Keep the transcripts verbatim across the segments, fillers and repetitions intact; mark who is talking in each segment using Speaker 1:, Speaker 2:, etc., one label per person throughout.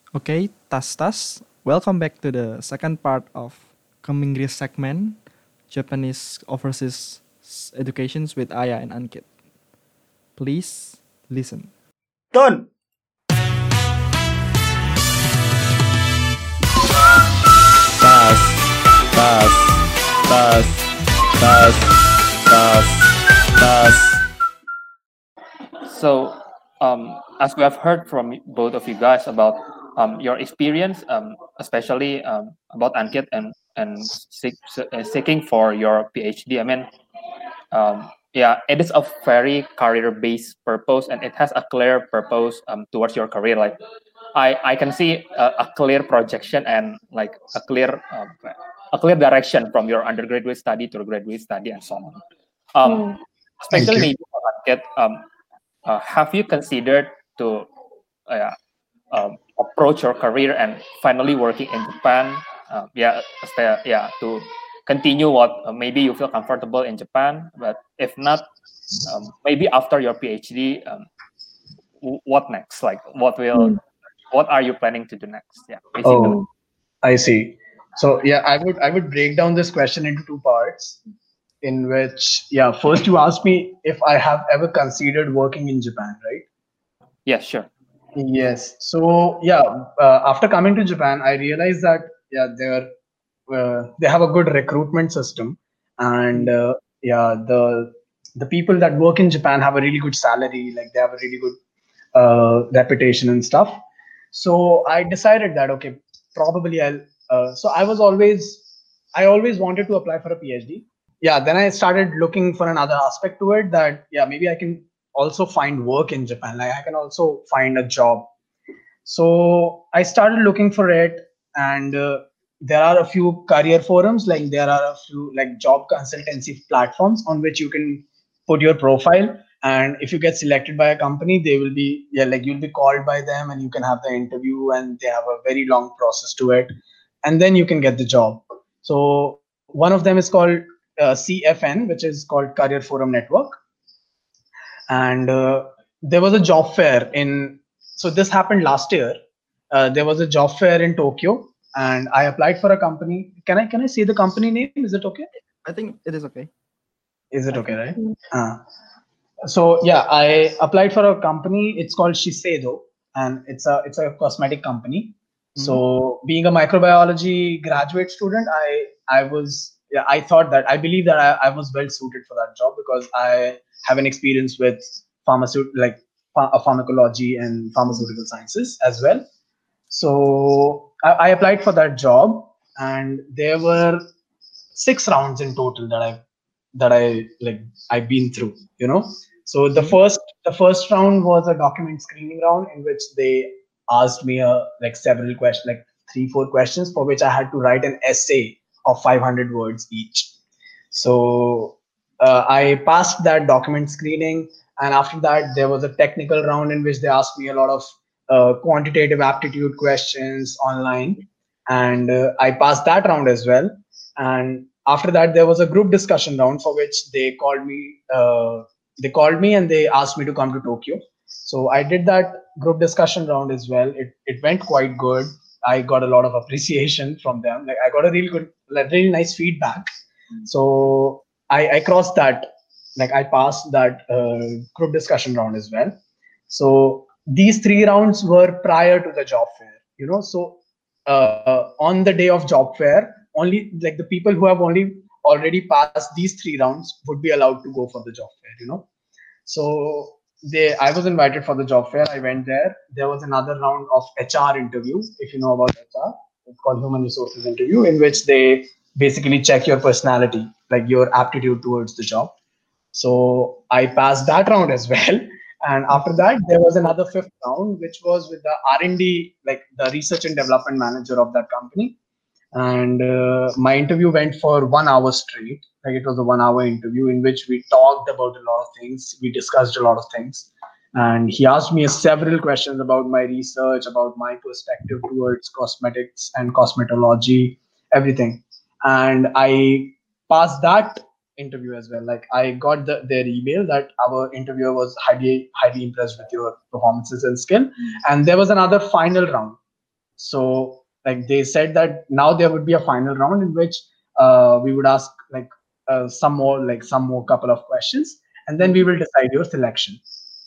Speaker 1: Okay, tas tas. Welcome back to the second part of Keminggris segment, Japanese overseas educations with Aya and Ankit. Please listen.
Speaker 2: Done.
Speaker 3: Tas, tas, tas, tas, tas, tas.
Speaker 4: So, um, as we have heard from both of you guys about um, your experience, um, especially um, about Ankit and and seek, uh, seeking for your PhD. I mean, um, yeah, it is a very career-based purpose, and it has a clear purpose um, towards your career. Like, I I can see a, a clear projection and like a clear um, a clear direction from your undergraduate study to graduate study and so on. Um,
Speaker 2: Thank
Speaker 4: especially
Speaker 2: you.
Speaker 4: maybe for Ankit, um, uh, have you considered to uh, yeah, um, approach your career and finally working in Japan? Uh, yeah, stay, yeah, to continue what uh, maybe you feel comfortable in Japan, but if not, um, maybe after your PhD, um, w- what next? Like, what will, what are you planning to do next? Yeah, basically.
Speaker 2: Oh, I see. So yeah, I would I would break down this question into two parts. In which, yeah, first you asked me if I have ever considered working in Japan, right?
Speaker 4: Yeah, sure.
Speaker 2: Yes. So yeah, uh, after coming to Japan, I realized that yeah, they're uh, they have a good recruitment system, and uh, yeah, the the people that work in Japan have a really good salary, like they have a really good uh, reputation and stuff. So I decided that okay, probably I'll. Uh, so I was always I always wanted to apply for a PhD. Yeah, then I started looking for another aspect to it, that yeah, maybe I can also find work in Japan, like I can also find a job. So I started looking for it, and uh, there are a few career forums, like there are a few like job consultancy platforms on which you can put your profile, and if you get selected by a company, they will be, yeah, like you'll be called by them and you can have the interview, and they have a very long process to it, and then you can get the job. So one of them is called uh, C F N, which is called Career Forum Network. And uh, there was a job fair in, so this happened last year. Uh, there was a job fair in Tokyo, and I applied for a company. Can i can i say the company name? Is it okay?
Speaker 1: I think it is okay.
Speaker 2: Is it
Speaker 1: I
Speaker 2: okay,
Speaker 1: think.
Speaker 2: right? uh, so yeah, I applied for a company. It's called Shiseido, and it's a it's a cosmetic company.
Speaker 1: Mhm.
Speaker 2: So being a microbiology graduate student, i i was, yeah, I thought that, I believe that I, I was well suited for that job, because I have an experience with pharmaceutical, like ph- uh, pharmacology and pharmaceutical sciences as well. So I, I applied for that job, and there were six rounds in total that I that I like I've been through, you know. So the
Speaker 1: Mhm.
Speaker 2: first the first round was a document screening round, in which they asked me a like several questions, like three four questions, for which I had to write an essay of five hundred words each. So uh, I passed that document screening, and after that there was a technical round in which they asked me a lot of uh, quantitative aptitude questions online, and uh, I passed that round as well. And after that there was a group discussion round, for which they called me. Uh, they called me and they asked me to come to Tokyo. So I did that group discussion round as well. It it went quite good. I got a lot of appreciation from them. Like I got a really good, like really nice feedback. So I, I crossed that, like I passed that uh, group discussion round as well. So these three rounds were prior to the job fair, you know. So uh, on the day of job fair, only like the people who have only already passed these three rounds would be allowed to go for the job fair, you know. So they, I was invited for the job fair. I went there. There was another round of H R interview, if you know about H R. It's called human resources interview, in which they basically check your personality, like your aptitude towards the job. So I passed that round as well. And after that, there was another fifth round, which was with the R and D, like the research and development manager of that company. And uh, my interview went for one hour straight. Like it was a one hour interview in which we talked about a lot of things. We discussed a lot of things. And he asked me several questions about my research, about my perspective towards cosmetics and cosmetology, everything. And I passed that interview as well. Like I got the, their email that our interviewer was highly highly impressed with your performances and skill. And there was another final round. So like they said that now there would be a final round in which uh, we would ask like uh, some more like some more couple of questions, and then we will decide your selection.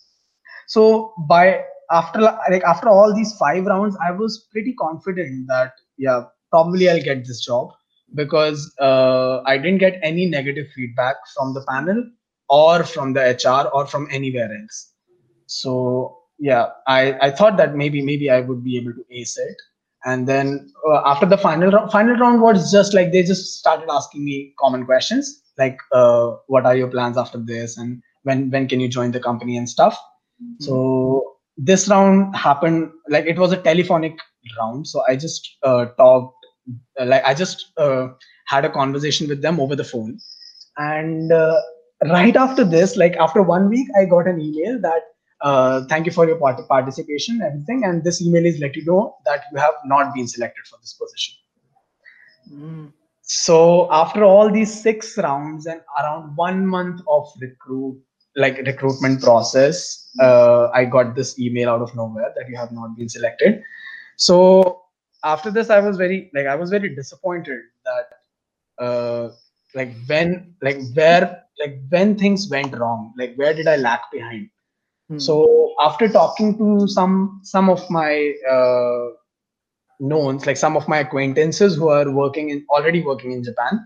Speaker 2: So by after like after all these five rounds, I was pretty confident that yeah, probably I'll get this job because uh, I didn't get any negative feedback from the panel or from the H R or from anywhere else. So yeah, I, I thought that maybe maybe I would be able to ace it. And then uh, after the final round, final round was just like they just started asking me common questions like uh, what are your plans after this and when when can you join the company and stuff. So this round happened like it was a telephonic round. So I just uh, talked uh, like I just uh, had a conversation with them over the phone. And uh, right after this, like after one week, I got an email that uh, thank you for your part- participation, and everything. And this email is let you know that you have not been selected for this position.
Speaker 1: Mm.
Speaker 2: So after all these six rounds and around one month of recruit like recruitment process, uh, I got this email out of nowhere that you have not been selected. So after this, I was very like I was very disappointed that uh, like when like where like when things went wrong, like where did I lag behind.
Speaker 1: Mm.
Speaker 2: So after talking to some some of my uh, knowns, like some of my acquaintances who are working in already working in Japan,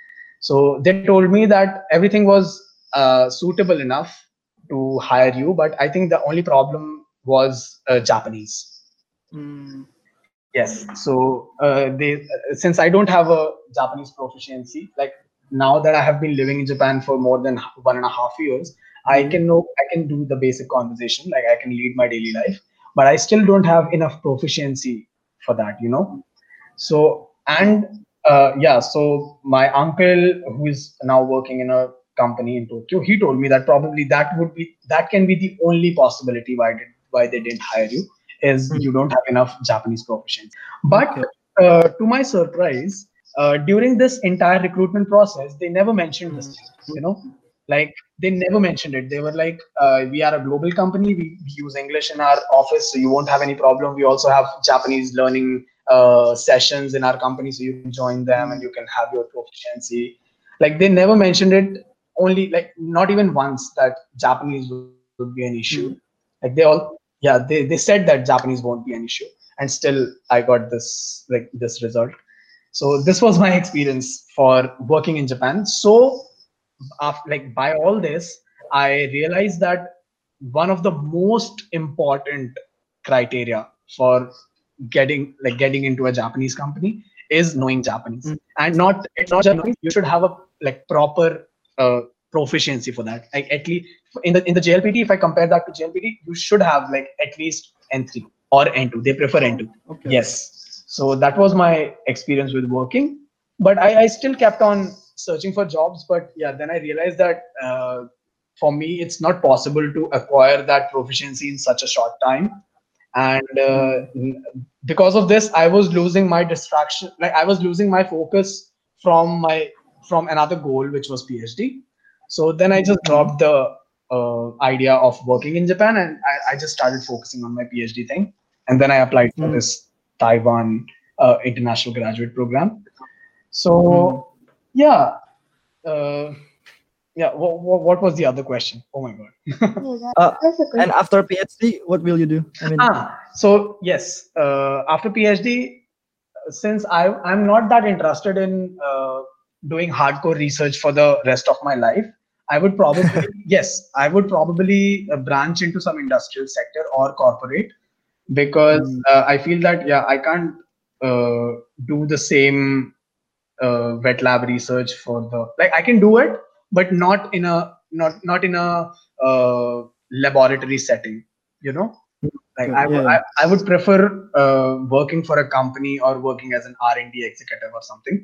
Speaker 2: so they told me that everything was uh, suitable enough to hire you, but I think the only problem was uh, Japanese.
Speaker 1: Mm.
Speaker 2: Yes. So uh, they since I don't have a Japanese proficiency, like now that I have been living in Japan for more than one and a half years, I
Speaker 1: Mm.
Speaker 2: can know I can do the basic conversation, like I can lead my daily life, but I still don't have enough proficiency for that, you know. So and uh, yeah, so my uncle who is now working in a company in Tokyo, he told me that probably that would be that can be the only possibility why did why they didn't hire you is
Speaker 1: Mm.
Speaker 2: you don't have enough Japanese proficiency. But
Speaker 1: Okay.
Speaker 2: uh, to my surprise, uh, during this entire recruitment process, they never mentioned this
Speaker 1: Mm.
Speaker 2: thing. You know, like they never mentioned it. They were like, uh, "We are a global company. We, we use English in our office, so you won't have any problem. We also have Japanese learning uh, sessions in our company, so you can join them and you can have your proficiency." Like they never mentioned it. Only like not even once that Japanese would be an issue.
Speaker 1: Mm.
Speaker 2: Like they all, yeah, they, they said that Japanese won't be an issue, and still I got this like this result. So this was my experience for working in Japan. So after, like by all this, I realized that one of the most important criteria for getting like getting into a Japanese company is knowing Japanese,
Speaker 1: Mm.
Speaker 2: and not it's not just knowing, you should have a like proper uh, proficiency for that. Like at least in the in the J L P T, if I compare that to J L P T, you should have like at least N three or N two. They prefer N two.
Speaker 1: Okay.
Speaker 2: Yes. So that was my experience with working, but I, I still kept on searching for jobs. But yeah, then I realized that uh, for me, it's not possible to acquire that proficiency in such a short time. And uh,
Speaker 1: Mm.
Speaker 2: because of this, I was losing my distraction. Like I was losing my focus from my from another goal, which was PhD. So then I just
Speaker 1: Mm.
Speaker 2: dropped the uh, idea of working in Japan, and I, I just started focusing on my PhD thing. And then I applied for
Speaker 1: Mm.
Speaker 2: this Taiwan uh, international graduate program. So
Speaker 1: Mm.
Speaker 2: yeah, uh, yeah. What, what, what was the other question? Oh my god.
Speaker 1: Uh, and after PhD, what will you do? I mean,
Speaker 2: Ah, so yes, uh, after PhD, since I I'm not that interested in uh, doing hardcore research for the rest of my life, I would probably yes, I would probably uh, branch into some industrial sector or corporate because
Speaker 1: Mm.
Speaker 2: uh, I feel that yeah, I can't uh, do the same uh, wet lab research for the like I can do it, but not in a not not in a uh, laboratory setting. You know, like
Speaker 1: Okay.
Speaker 2: I,
Speaker 1: Yeah.
Speaker 2: w- I, I would prefer uh, working for a company or working as an R and D executive or something.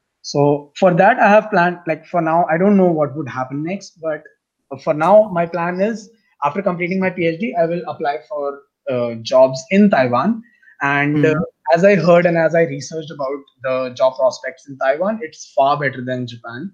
Speaker 2: So for that, I have planned, like for now, I don't know what would happen next, but for now, my plan is after completing my PhD, I will apply for uh, jobs in Taiwan. And uh,
Speaker 1: Mm.
Speaker 2: as I heard and as I researched about the job prospects in Taiwan, it's far better than Japan.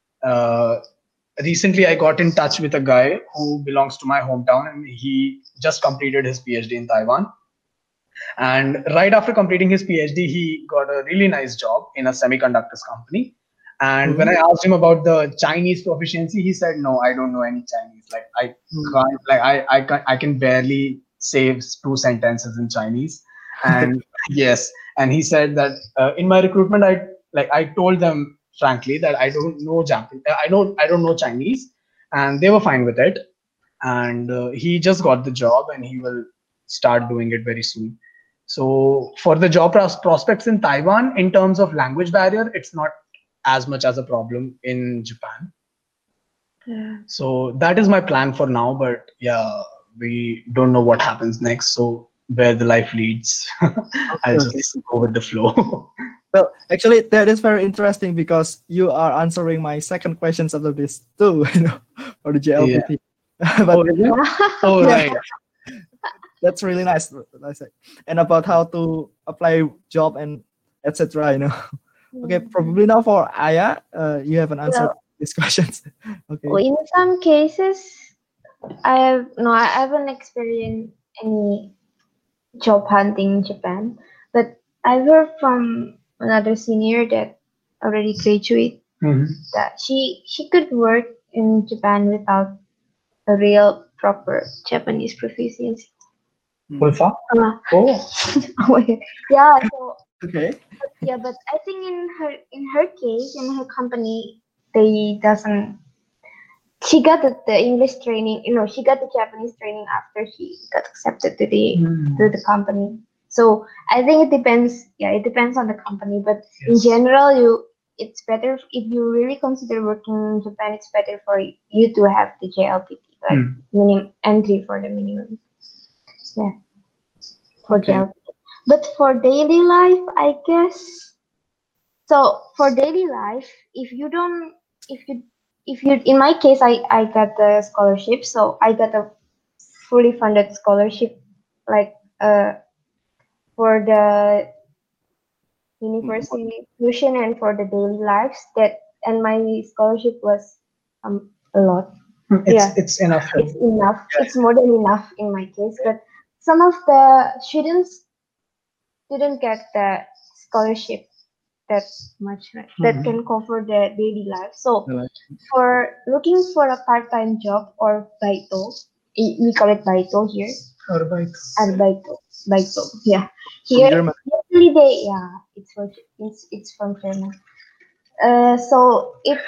Speaker 2: Uh, Recently, I got in touch with a guy who belongs to my hometown, and he just completed his PhD in Taiwan. And right after completing his PhD, he got a really nice job in a semiconductors company. And mm-hmm. when I asked him about the Chinese proficiency, he said, "No, I don't know any Chinese. Like I mm-hmm. can't. Like I, I can, I can barely say two sentences in Chinese." And yes, and he said that uh, in my recruitment, I like I told them frankly that I don't know Japanese. I don't, I don't know Chinese, and they were fine with it. And uh, he just got the job, and he will start doing it very soon. So for the job pros- prospects in Taiwan, in terms of language barrier, it's not as much as a problem in Japan. Yeah. So that is my plan for now, but yeah, we don't know what happens next. So where the life leads, I'll just go with the flow.
Speaker 1: Well, actually, that is very interesting because you are answering my second questions after this too, you know, for the J L P T. Yeah. But,
Speaker 2: oh, oh right.
Speaker 1: That's really nice. And about how to apply job and et cetera. You know. Okay, probably now for Aya, uh, you haven't answered well, these questions. Okay.
Speaker 5: Well, in some cases, I have no, I haven't experienced any job hunting in Japan, but I've heard from another senior that already graduated mm-hmm. that she she could work in Japan without a real proper Japanese proficiency.
Speaker 2: Ulfa?
Speaker 5: Uh,
Speaker 2: oh.
Speaker 5: Yeah. So.
Speaker 1: Okay.
Speaker 5: But, yeah, but I think in her in her case, in her company, they doesn't. She got the, the English training. You know, she got the Japanese training after she got accepted to the mm. to the company. So I think it depends. Yeah, it depends on the company. But yes. in general, you it's better if you really consider working in Japan. It's better for you to have the J L P T, like mm. minimum entry for the minimum. Yeah, for okay. J L P T. But for daily life, I guess. So for daily life, if you don't, if you, if you, in my case, I, I got the scholarship. So I got a fully funded scholarship, like uh, for the university tuition and for the daily lives. That and my scholarship was um a lot.
Speaker 2: It's, yeah, it's enough.
Speaker 5: It's enough. Yeah. It's more than enough in my case. But some of the students didn't get the scholarship that much, right? Mm-hmm. That can cover the daily life. So for looking for a part-time job or baito, we call it baito here.
Speaker 2: Arbeito.
Speaker 5: Arbeito. Baito. Yeah. Here, usually they, yeah, it's for, it's it's from German. Uh, so it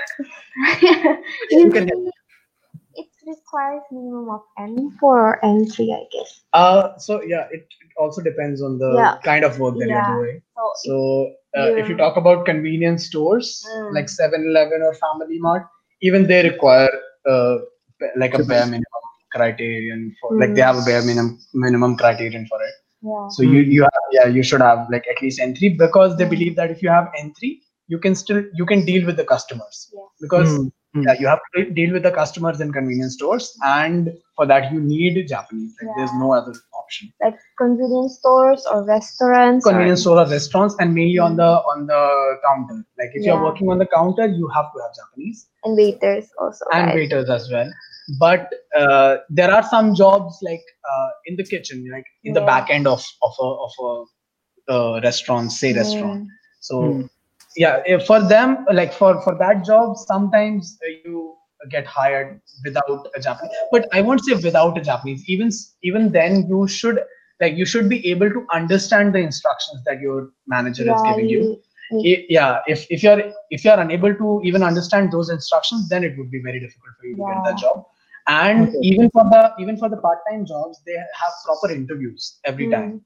Speaker 5: usually it requires minimum of N for entry, I guess.
Speaker 2: Uh, so yeah, it also depends on the yeah. kind of work that yeah. you're doing. So, so uh, yeah. if you talk about convenience stores mm. like seven eleven or Family Mart, even they require uh, like a bare minimum criterion for mm. like they have a bare minimum minimum criterion for it.
Speaker 5: Yeah.
Speaker 2: So mm. you you have, yeah you should have like at least entry because they believe that if you have entry, you can still you can deal with the customers
Speaker 5: yes.
Speaker 2: because. Mm. Yeah, you have to deal with the customers in convenience stores, and for that you need Japanese. Like, yeah. There's no other option.
Speaker 5: Like convenience stores or restaurants.
Speaker 2: Convenience stores or restaurants, and mainly mm-hmm. on the on the counter. Like if yeah. you're working on the counter, you have to have Japanese.
Speaker 5: And waiters also.
Speaker 2: And right? waiters as well. But uh, there are some jobs like uh, in the kitchen, like in yeah. the back end of of a of a uh, restaurant, say mm. restaurant. So. Mm. Yeah, for them, like for, for that job, sometimes you get hired without a Japanese. But I won't say without a Japanese. Even even then, you should like you should be able to understand the instructions that your manager yeah, is giving you. Yeah. yeah, if if you're if you're unable to even understand those instructions, then it would be very difficult for you to yeah. get that job. And okay. even for the even for the part-time jobs, they have proper interviews every mm. time.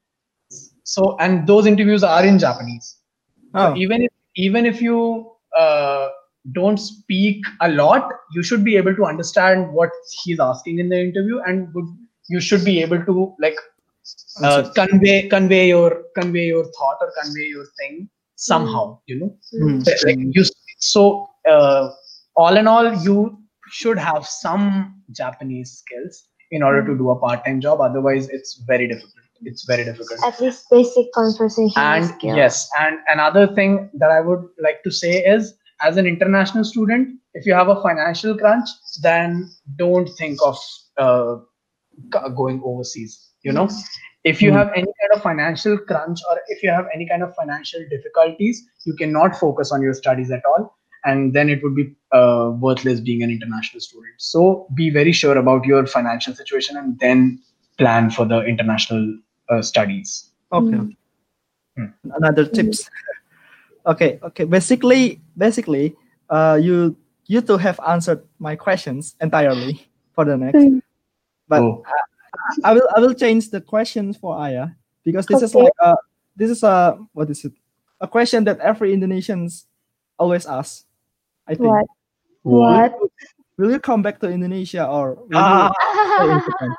Speaker 2: So and those interviews are in Japanese. Oh. So even if Even if you uh, don't speak a lot, you should be able to understand what he's asking in the interview, and would, you should be able to like uh, convey convey your convey your thought or convey your thing somehow. Mm. You know, mm. like you. So uh, all in all, you should have some Japanese skills in order mm. to do a part-time job. Otherwise, it's very difficult. It's very difficult.
Speaker 5: At least basic conversation
Speaker 2: and
Speaker 5: skills.
Speaker 2: Yes, and another thing that I would like to say is, as an international student, if you have a financial crunch, then don't think of uh, going overseas. You know, if you have any kind of financial crunch, or if you have any kind of financial difficulties, you cannot focus on your studies at all, and then it would be uh, worthless being an international student. So be very sure about your financial situation and then plan for the international uh, studies.
Speaker 1: Okay.
Speaker 5: Mm.
Speaker 1: okay. Another tips. okay. Okay. Basically, basically, uh, you you two have answered my questions entirely for the next,
Speaker 5: Mm.
Speaker 1: but
Speaker 2: Oh.
Speaker 1: I, I will I will change the questions for Aya because this is
Speaker 5: Okay.
Speaker 1: like a this is a what is it a question that every Indonesians always ask. I think.
Speaker 5: What?
Speaker 1: Will
Speaker 5: What?
Speaker 1: you, will you come back to Indonesia or will
Speaker 2: Ah.
Speaker 1: you stay in Japan?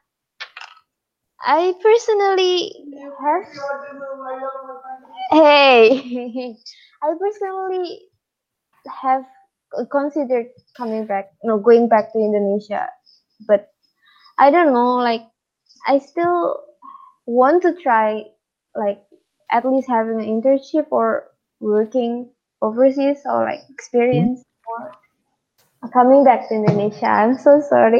Speaker 5: I personally have. Hey, I personally have considered coming back, no, going back to Indonesia, but I don't know. Like, I still want to try, like, at least having an internship or working overseas or like experience or coming back to Indonesia. I'm so sorry.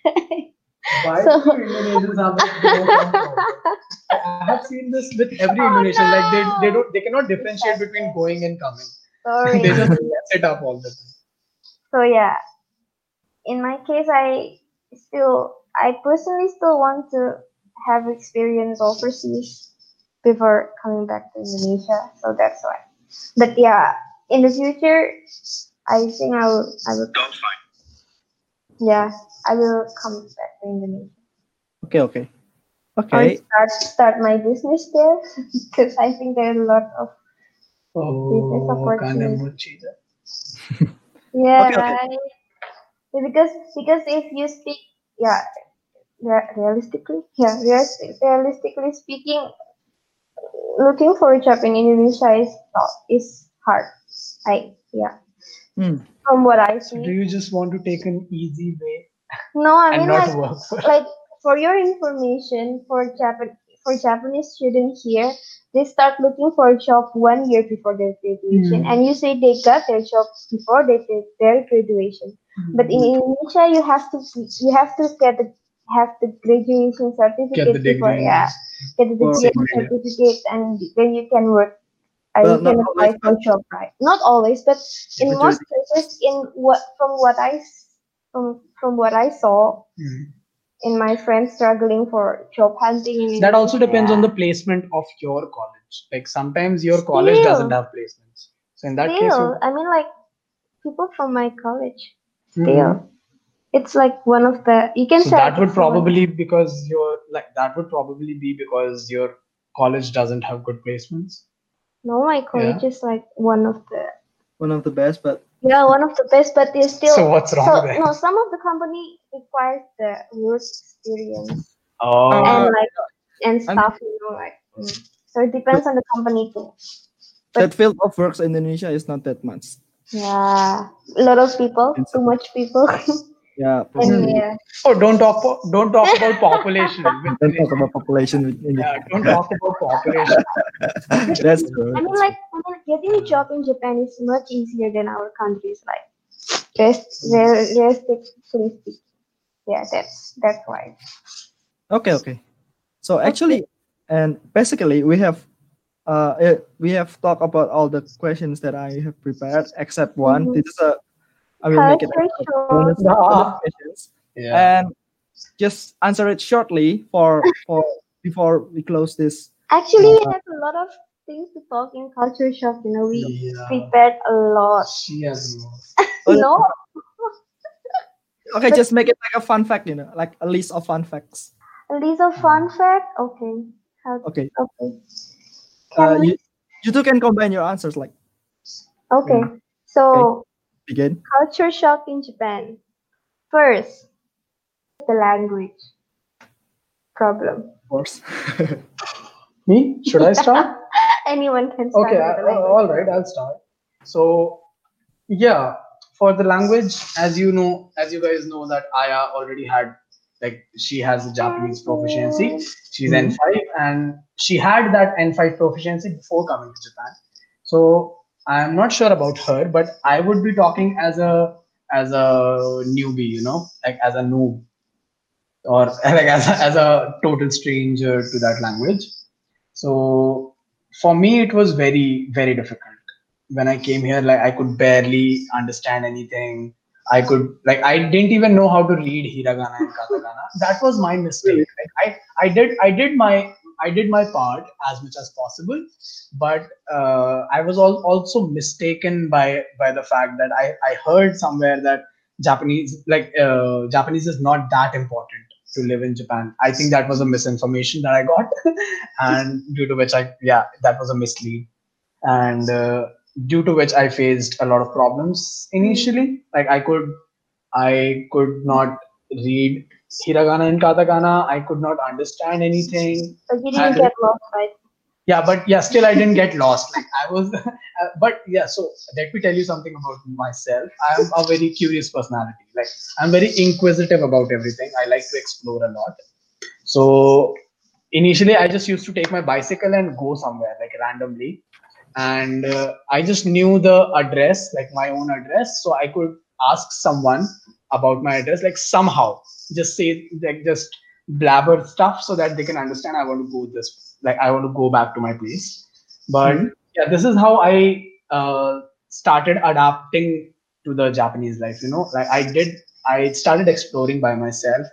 Speaker 2: Why
Speaker 5: So-
Speaker 2: do Indonesians have like no comfort? I have seen this with every
Speaker 5: Oh,
Speaker 2: Indonesian. Like they,
Speaker 5: no.
Speaker 2: they don't they cannot differentiate between going and coming.
Speaker 5: Sorry.
Speaker 2: They just mess it up all the time.
Speaker 5: So yeah, in my case, I still, I personally still want to have experience overseas before coming back to Indonesia. So that's why. But yeah, in the future, I think I will, I will. Yeah, I will come back to Indonesia.
Speaker 1: Okay. Okay.
Speaker 5: I'll
Speaker 1: Okay.
Speaker 5: start start my business there because I think there are a lot of business
Speaker 2: Oh,
Speaker 5: opportunities.
Speaker 2: Kanemuchi.
Speaker 5: Yeah,
Speaker 1: Okay, okay.
Speaker 5: right. Yeah, because because if you speak, yeah, re- realistically, yeah, realis- realistically speaking, looking for a job in Indonesia is not is hard. I yeah,
Speaker 1: Hmm.
Speaker 5: from what I
Speaker 2: So do
Speaker 5: see.
Speaker 2: you just want to take an easy way
Speaker 5: No, I
Speaker 2: and
Speaker 5: mean
Speaker 2: not
Speaker 5: like
Speaker 2: work for it?
Speaker 5: like for your information, for Japan for Japanese students here, they start looking for a job one year before their graduation,
Speaker 2: Hmm.
Speaker 5: and you say they got their job before they did their graduation. But in Indonesia, you have to you have to get the have the graduation certificate
Speaker 2: Get the
Speaker 5: before,
Speaker 2: degree.
Speaker 5: yeah, get the
Speaker 1: Or-
Speaker 5: degree and
Speaker 2: Same here.
Speaker 5: certificate, and then you can work. Uh,
Speaker 1: Well,
Speaker 5: you can
Speaker 1: not
Speaker 5: apply
Speaker 1: always,
Speaker 5: for job, right? Not always, but in
Speaker 1: Majority.
Speaker 5: most cases, in what from what I s- from from what I saw
Speaker 2: Hmm.
Speaker 5: in my friends struggling for job hunting in
Speaker 2: That also depends on the
Speaker 5: Indonesia.
Speaker 2: placement of your college. Like sometimes your college doesn't
Speaker 5: Still.
Speaker 2: have placements. So in that case,
Speaker 5: Still,
Speaker 2: you.
Speaker 5: I mean, like people from my college.
Speaker 2: Mhm.
Speaker 5: Still, it's like one of the you can
Speaker 2: So
Speaker 5: say
Speaker 2: that would
Speaker 5: it's one-
Speaker 2: probably because your like that would probably be because your college doesn't have good placements.
Speaker 5: no, my college is like one of the
Speaker 1: one of the best, but
Speaker 5: yeah one of the best, but they still
Speaker 2: So what's wrong
Speaker 5: so
Speaker 2: there?
Speaker 5: no some of the company requires the work experience
Speaker 2: Oh,
Speaker 5: and
Speaker 1: Uh,
Speaker 5: like and
Speaker 1: I'm-
Speaker 5: stuff, you know, like mm. So it depends on the company too.
Speaker 1: that field of works in Indonesia is not that much.
Speaker 5: Yeah, a lot of people,
Speaker 1: It's-
Speaker 5: too much people,
Speaker 1: Yeah,
Speaker 5: and
Speaker 1: probably.
Speaker 5: yeah.
Speaker 2: oh, don't talk po- don't talk about population. with
Speaker 1: Don't talk
Speaker 2: Indonesia.
Speaker 1: about population in
Speaker 2: Yeah,
Speaker 1: India.
Speaker 2: don't talk about population.
Speaker 1: That's true.
Speaker 5: I mean,
Speaker 1: that's
Speaker 5: like, I mean, getting a job in Japan is much easier than our countries. Like, rest, real- realistically speaking, yeah, that's that's why.
Speaker 1: true. Okay, okay. So actually, and basically, we have uh eh, we have talked about all the questions that I have prepared except one.
Speaker 5: Mhm.
Speaker 1: This is a I will make it a
Speaker 5: Culture shock.
Speaker 1: bonus, bonus
Speaker 2: Ah.
Speaker 1: questions.
Speaker 2: Yeah.
Speaker 1: And just answer it shortly for for before we close this.
Speaker 5: Actually, we
Speaker 1: Uh,
Speaker 5: have a lot of things to talk in culture shock. You know, we
Speaker 2: Yeah.
Speaker 5: prepared a lot.
Speaker 2: She has no.
Speaker 1: Oh, yeah.
Speaker 5: No,
Speaker 1: Okay,
Speaker 5: But-
Speaker 1: just make it like a fun fact, you know, like a list of fun facts.
Speaker 5: a list of fun fact. Okay. How,
Speaker 1: Okay.
Speaker 5: okay.
Speaker 1: Uh,
Speaker 5: Can we?
Speaker 1: you you two can combine your answers, like
Speaker 5: Okay. So
Speaker 1: begin.
Speaker 5: culture shock in Japan. First, the language problem.
Speaker 1: Of course.
Speaker 2: Me? Should I start?
Speaker 5: Anyone can start
Speaker 2: Okay,
Speaker 5: with
Speaker 2: I,
Speaker 5: the language.
Speaker 2: all right, I'll start. So, yeah, for the language, as you know, as you guys know, that Aya already had, like, she has a Japanese proficiency. She's
Speaker 1: Mhm.
Speaker 2: N five, and she had that N five proficiency before coming to Japan. So, I'm not sure about her, but I would be talking as a as a newbie, you know, like as a noob. or like as a, as a total stranger to that language. So for me, it was very very difficult when I came here. Like I could barely understand anything. I could like I didn't even know how to read hiragana and katakana. That was my mistake. Like, I I did I did my I did my part as much as possible, but uh, I was al- also mistaken by by the fact that I I heard somewhere that Japanese like uh, Japanese is not that important to live in Japan. I think that was a misinformation that I got, and due to which I yeah that was a mislead, and uh, due to which I faced a lot of problems initially. Like I could I could not read hiragana and katakana. I could not understand anything.
Speaker 5: But you didn't
Speaker 2: And
Speaker 5: get lost, right?
Speaker 2: yeah, but yeah, still I didn't get lost. Like I was, uh, but yeah. So let me tell you something about myself. I am a very curious personality. Like I'm very inquisitive about everything. I like to explore a lot. So initially, I just used to take my bicycle and go somewhere like randomly, and uh, I just knew the address, like my own address, so I could ask someone about my address, like somehow, just say like just blabber stuff so that they can understand I want to go this, like I want to go back to my place. But
Speaker 1: Mhm.
Speaker 2: yeah, this is how I uh, started adapting to the Japanese life. You know, like I did, I started exploring by myself,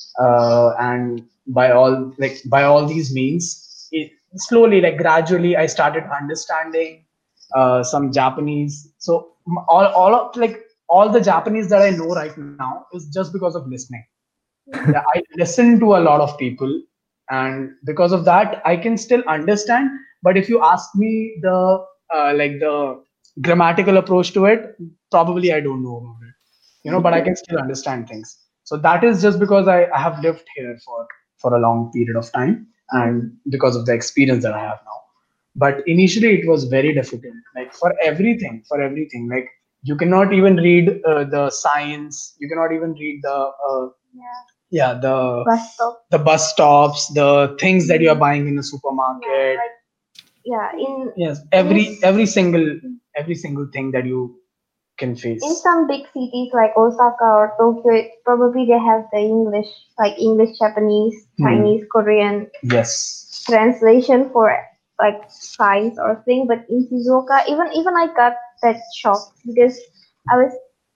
Speaker 2: uh, and by all like by all these means, it, slowly, like gradually, I started understanding uh, some Japanese. So m- all all of like all the Japanese that I know right now is just because of listening. Yeah, I listen to a lot of people, and because of that, I can still understand. But if you ask me the uh, like the grammatical approach to it, probably I don't know about it. You know, but I can still understand things. So that is just because I, I have lived here for for a long period of time, and because of the experience that I have now. But initially, it was very difficult. Like for everything, for everything, like you cannot even read uh, the signs. You cannot even read the uh,
Speaker 5: Yeah.
Speaker 2: yeah the
Speaker 5: Bus stop.
Speaker 2: the bus stops, the things that you are buying in the
Speaker 5: Yeah,
Speaker 2: supermarket.
Speaker 5: like yeah, in
Speaker 2: Yes,
Speaker 5: in
Speaker 2: every
Speaker 5: s-
Speaker 2: every single every single thing that you can
Speaker 5: in
Speaker 2: face.
Speaker 5: some big cities like Osaka or Tokyo, it, probably they have the English, like English, Japanese,
Speaker 2: Hmm.
Speaker 5: Chinese, Korean
Speaker 2: Yes.
Speaker 5: translation for like signs or thing. But in Shizuoka, even even I got that shock because I was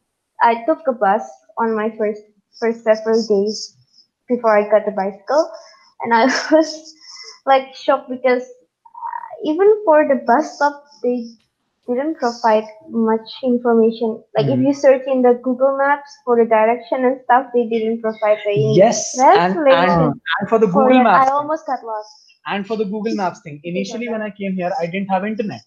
Speaker 5: I took a bus on my first first several days before I got the bicycle, and I was like shocked because even for the bus stop they didn't provide much information. Like if
Speaker 2: Hmm.
Speaker 5: you search in the Google Maps for the direction and stuff, they didn't provide the English
Speaker 2: Yes, and and
Speaker 1: Ah,
Speaker 5: translation.
Speaker 2: and for the
Speaker 5: For
Speaker 2: Google
Speaker 5: that, I
Speaker 2: Maps thing,
Speaker 5: almost got lost
Speaker 2: and for the Google Maps thing.
Speaker 5: because of
Speaker 2: Initially, when
Speaker 5: that.
Speaker 2: I came here, I didn't have internet,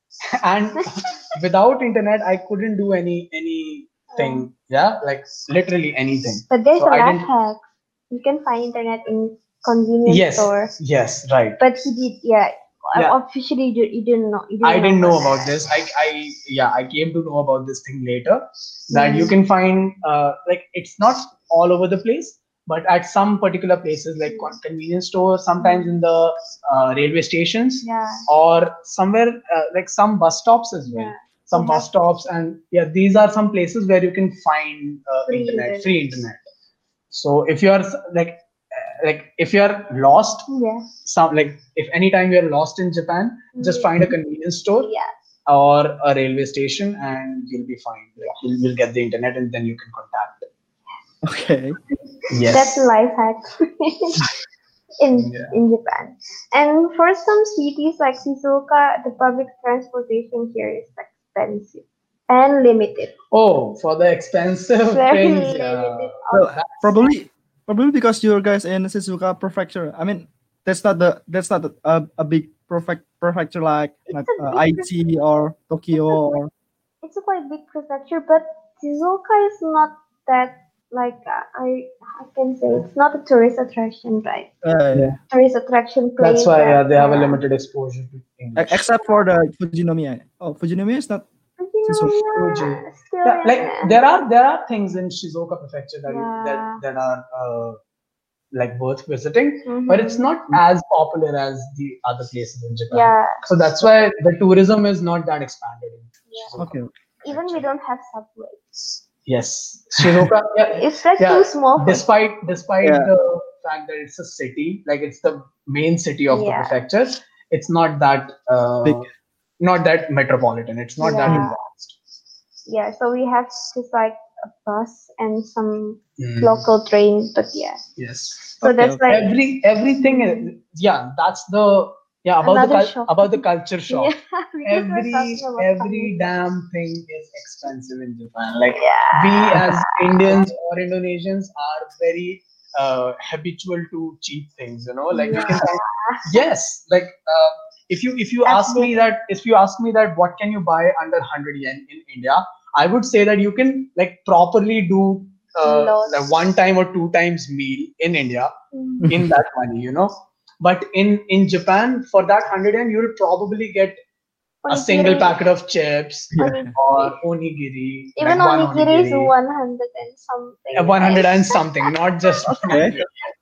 Speaker 2: and without internet, I couldn't do any anything. Yeah, like literally anything.
Speaker 5: But there's
Speaker 2: So
Speaker 5: a
Speaker 2: I
Speaker 5: life
Speaker 2: didn't.
Speaker 5: hack. You can find internet in convenience
Speaker 2: Yes,
Speaker 5: store.
Speaker 2: yes, right.
Speaker 5: But he did, yeah.
Speaker 2: Yeah,
Speaker 5: Officially, you, you didn't know. You
Speaker 2: I
Speaker 5: didn't know
Speaker 2: didn't know
Speaker 5: about
Speaker 2: about
Speaker 5: that.
Speaker 2: this. I, I, yeah, I came to know about this thing later. That you
Speaker 5: Mm.
Speaker 2: can find, uh, like, it's not all over the place, but at some particular places, like con- convenience stores, sometimes in the uh, railway stations,
Speaker 5: Yeah.
Speaker 2: or somewhere uh, like some bus stops as well.
Speaker 5: Yeah.
Speaker 2: Some
Speaker 5: They
Speaker 2: bus
Speaker 5: have
Speaker 2: stops, and yeah, these are some places where you can find uh,
Speaker 5: free
Speaker 2: internet,
Speaker 5: internet.
Speaker 2: free internet. So if you are s- like, uh, like if you are lost,
Speaker 5: Yeah.
Speaker 2: some like if anytime you're lost in Japan, just
Speaker 5: Mm.
Speaker 2: find a convenience store
Speaker 5: Yeah.
Speaker 2: or a railway station, and you'll be fine. Like you'll, you'll get the internet, and then you can contact.
Speaker 1: okay.
Speaker 2: Yes.
Speaker 5: That's a life hack in
Speaker 2: Yeah.
Speaker 5: in Japan. And for some cities like Shizuoka, the public transportation here is expensive and limited.
Speaker 2: Oh, for the expensive
Speaker 5: Very
Speaker 2: things,
Speaker 5: limited
Speaker 2: yeah.
Speaker 1: Well,
Speaker 5: options.
Speaker 1: probably probably because you're guys in Shizuoka Prefecture. I mean, that's not the that's not a, a big prefect prefecture like like
Speaker 5: It's a
Speaker 1: uh,
Speaker 5: big pre-
Speaker 1: Aichi or Tokyo
Speaker 5: it's a
Speaker 1: or
Speaker 5: it's a quite big prefecture, but Shizuoka is not that like uh, I I can say it's not a tourist attraction, right?
Speaker 1: uh,
Speaker 2: Yeah.
Speaker 5: Tourist attraction
Speaker 2: That's
Speaker 5: place
Speaker 2: why
Speaker 5: that
Speaker 2: yeah, they have a
Speaker 5: yeah.
Speaker 2: limited exposure to
Speaker 1: e-
Speaker 2: English.
Speaker 1: except for the Fujinomiya. Oh, Fujinomiya is not Shizuoka.
Speaker 2: Fuji.
Speaker 5: Shizuoka still
Speaker 2: Yeah, like
Speaker 5: yeah.
Speaker 2: there are there are things in Shizuoka Prefecture that you, that
Speaker 5: Yeah.
Speaker 2: that are uh, like worth visiting,
Speaker 5: Mhm.
Speaker 2: but it's not as popular as the other places in Japan.
Speaker 5: Yeah.
Speaker 2: So that's why the tourism is not that expanded in
Speaker 5: Yeah.
Speaker 2: Shizuoka
Speaker 1: Okay.
Speaker 5: Even we
Speaker 2: Prefecture.
Speaker 5: don't have subway.
Speaker 2: Yes, Shinoka. Yeah,
Speaker 5: It's like
Speaker 2: yeah.
Speaker 5: too small for
Speaker 2: Despite despite
Speaker 1: Yeah.
Speaker 2: the fact that it's a city, like it's the main city of the
Speaker 5: Yeah.
Speaker 2: prefecture, it's not that
Speaker 1: Big.
Speaker 2: uh, not that metropolitan. It's not that
Speaker 5: Yeah.
Speaker 2: advanced.
Speaker 5: Yeah, so we have just like a bus and some
Speaker 2: Mm.
Speaker 5: local train, but yeah.
Speaker 2: Yes.
Speaker 5: So
Speaker 1: Okay,
Speaker 5: that's
Speaker 1: okay.
Speaker 5: like
Speaker 2: Every everything is, yeah, that's the yeah about the
Speaker 5: another
Speaker 2: cul-
Speaker 5: shock.
Speaker 2: about the culture shock.
Speaker 5: Yeah, because we're
Speaker 2: Every
Speaker 5: talking about
Speaker 2: every
Speaker 5: family.
Speaker 2: damn thing is expensive in Japan. Like we
Speaker 5: Yeah.
Speaker 2: as Indians or Indonesians are very uh, habitual to cheap things. You know, like we can
Speaker 5: Yeah.
Speaker 2: find yes, like uh, if you if you ask me
Speaker 5: Absolutely.
Speaker 2: that if you ask me that what can you buy under one hundred yen in India, I would say that you can like properly do uh,
Speaker 5: Lots.
Speaker 2: like one time or two times meal in India
Speaker 5: Mm.
Speaker 2: in that money, you know. But in in Japan, for that one hundred yen, you'll probably get a single
Speaker 5: Onigiri.
Speaker 2: packet of chips
Speaker 1: Yeah.
Speaker 5: Onigiri.
Speaker 2: or onigiri,
Speaker 5: Even
Speaker 2: like one
Speaker 5: onigiri is
Speaker 2: onigiri,
Speaker 5: one hundred and something,
Speaker 2: uh, one hundred
Speaker 5: right?
Speaker 2: and something, not just one
Speaker 1: Okay.
Speaker 2: hundred.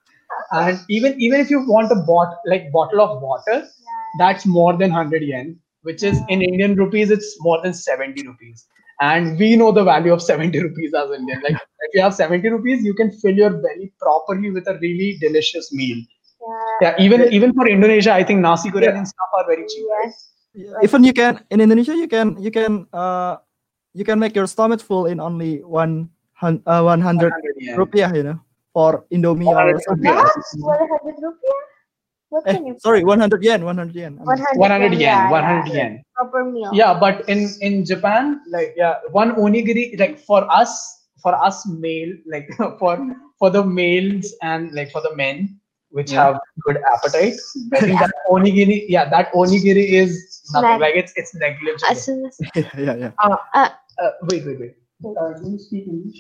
Speaker 2: And even even if you want a bot like bottle of water, that's more than one hundred yen, which is in Indian rupees, it's more than seventy rupees. And we know the value of seventy rupees as Indian. Like if you have seventy rupees, you can fill your belly properly with a really delicious meal.
Speaker 5: Yeah.
Speaker 2: Yeah, even even for Indonesia, I think nasi goreng
Speaker 1: Yeah.
Speaker 2: and stuff are very cheap, right?
Speaker 5: Yes.
Speaker 1: Yeah,
Speaker 5: Like
Speaker 1: even you can in Indonesia you can you can uh you can make your stomach full in only one hun- uh, one hundred
Speaker 2: one hundred yen.
Speaker 1: rupiah, you know, for Indomie or
Speaker 2: one hundred
Speaker 1: something.
Speaker 2: rupiah.
Speaker 5: what? one hundred rupiah? What
Speaker 1: Eh,
Speaker 5: can you
Speaker 1: sorry,
Speaker 5: buy?
Speaker 1: one hundred yen, one hundred yen. I mean.
Speaker 5: one hundred
Speaker 2: one hundred
Speaker 5: yen.
Speaker 2: yen,
Speaker 5: Yeah,
Speaker 2: one
Speaker 5: yeah.
Speaker 2: hundred yen.
Speaker 5: Proper meal.
Speaker 2: Yeah, but in in Japan, like yeah, one onigiri, like for us, for us male, like for for the males and like for the men which
Speaker 1: Yeah.
Speaker 2: have good appetite, I think that onigiri, yeah, that onigiri is nothing.
Speaker 5: Snack.
Speaker 2: Like it's it's negligible.
Speaker 5: As soon as
Speaker 1: yeah, yeah, yeah.
Speaker 2: Uh,
Speaker 5: uh,
Speaker 2: uh, wait, wait, wait. Uh, do you speak English?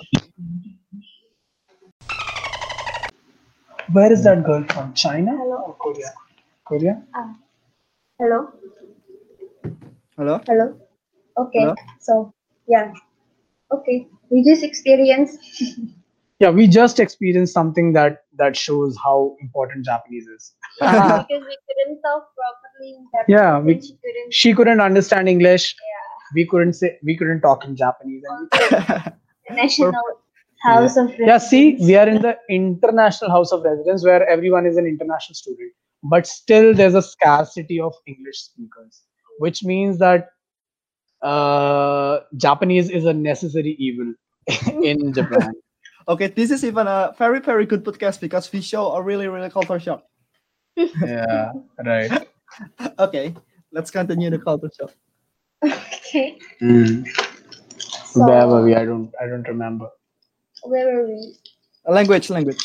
Speaker 2: Where is that girl from? China
Speaker 5: Hello.
Speaker 2: or Korea? Korea?
Speaker 5: uh, hello,
Speaker 1: Hello.
Speaker 5: hello. Okay.
Speaker 1: Hello.
Speaker 5: So yeah. Okay. We just experienced.
Speaker 2: Yeah, we just experienced something that that shows how important Japanese is.
Speaker 5: because we couldn't talk properly in Japanese.
Speaker 2: Yeah, we-
Speaker 5: and she couldn't.
Speaker 2: She couldn't understand English.
Speaker 5: Yeah.
Speaker 2: We couldn't say we couldn't talk in Japanese. And we-
Speaker 5: National House of
Speaker 2: yeah, see,
Speaker 5: Residence.
Speaker 2: we are in the international house of residence where everyone is an international student, but still there's a scarcity of English speakers, which means that uh, Japanese is a necessary evil in Japan.
Speaker 1: Okay, this is even a very very good podcast because we show a really really culture shock.
Speaker 2: Yeah, right.
Speaker 1: Okay, let's continue the culture shock.
Speaker 5: Okay.
Speaker 2: Mm.
Speaker 5: So
Speaker 2: Where were we? I don't. I don't remember.
Speaker 5: where were we?
Speaker 1: Language, language.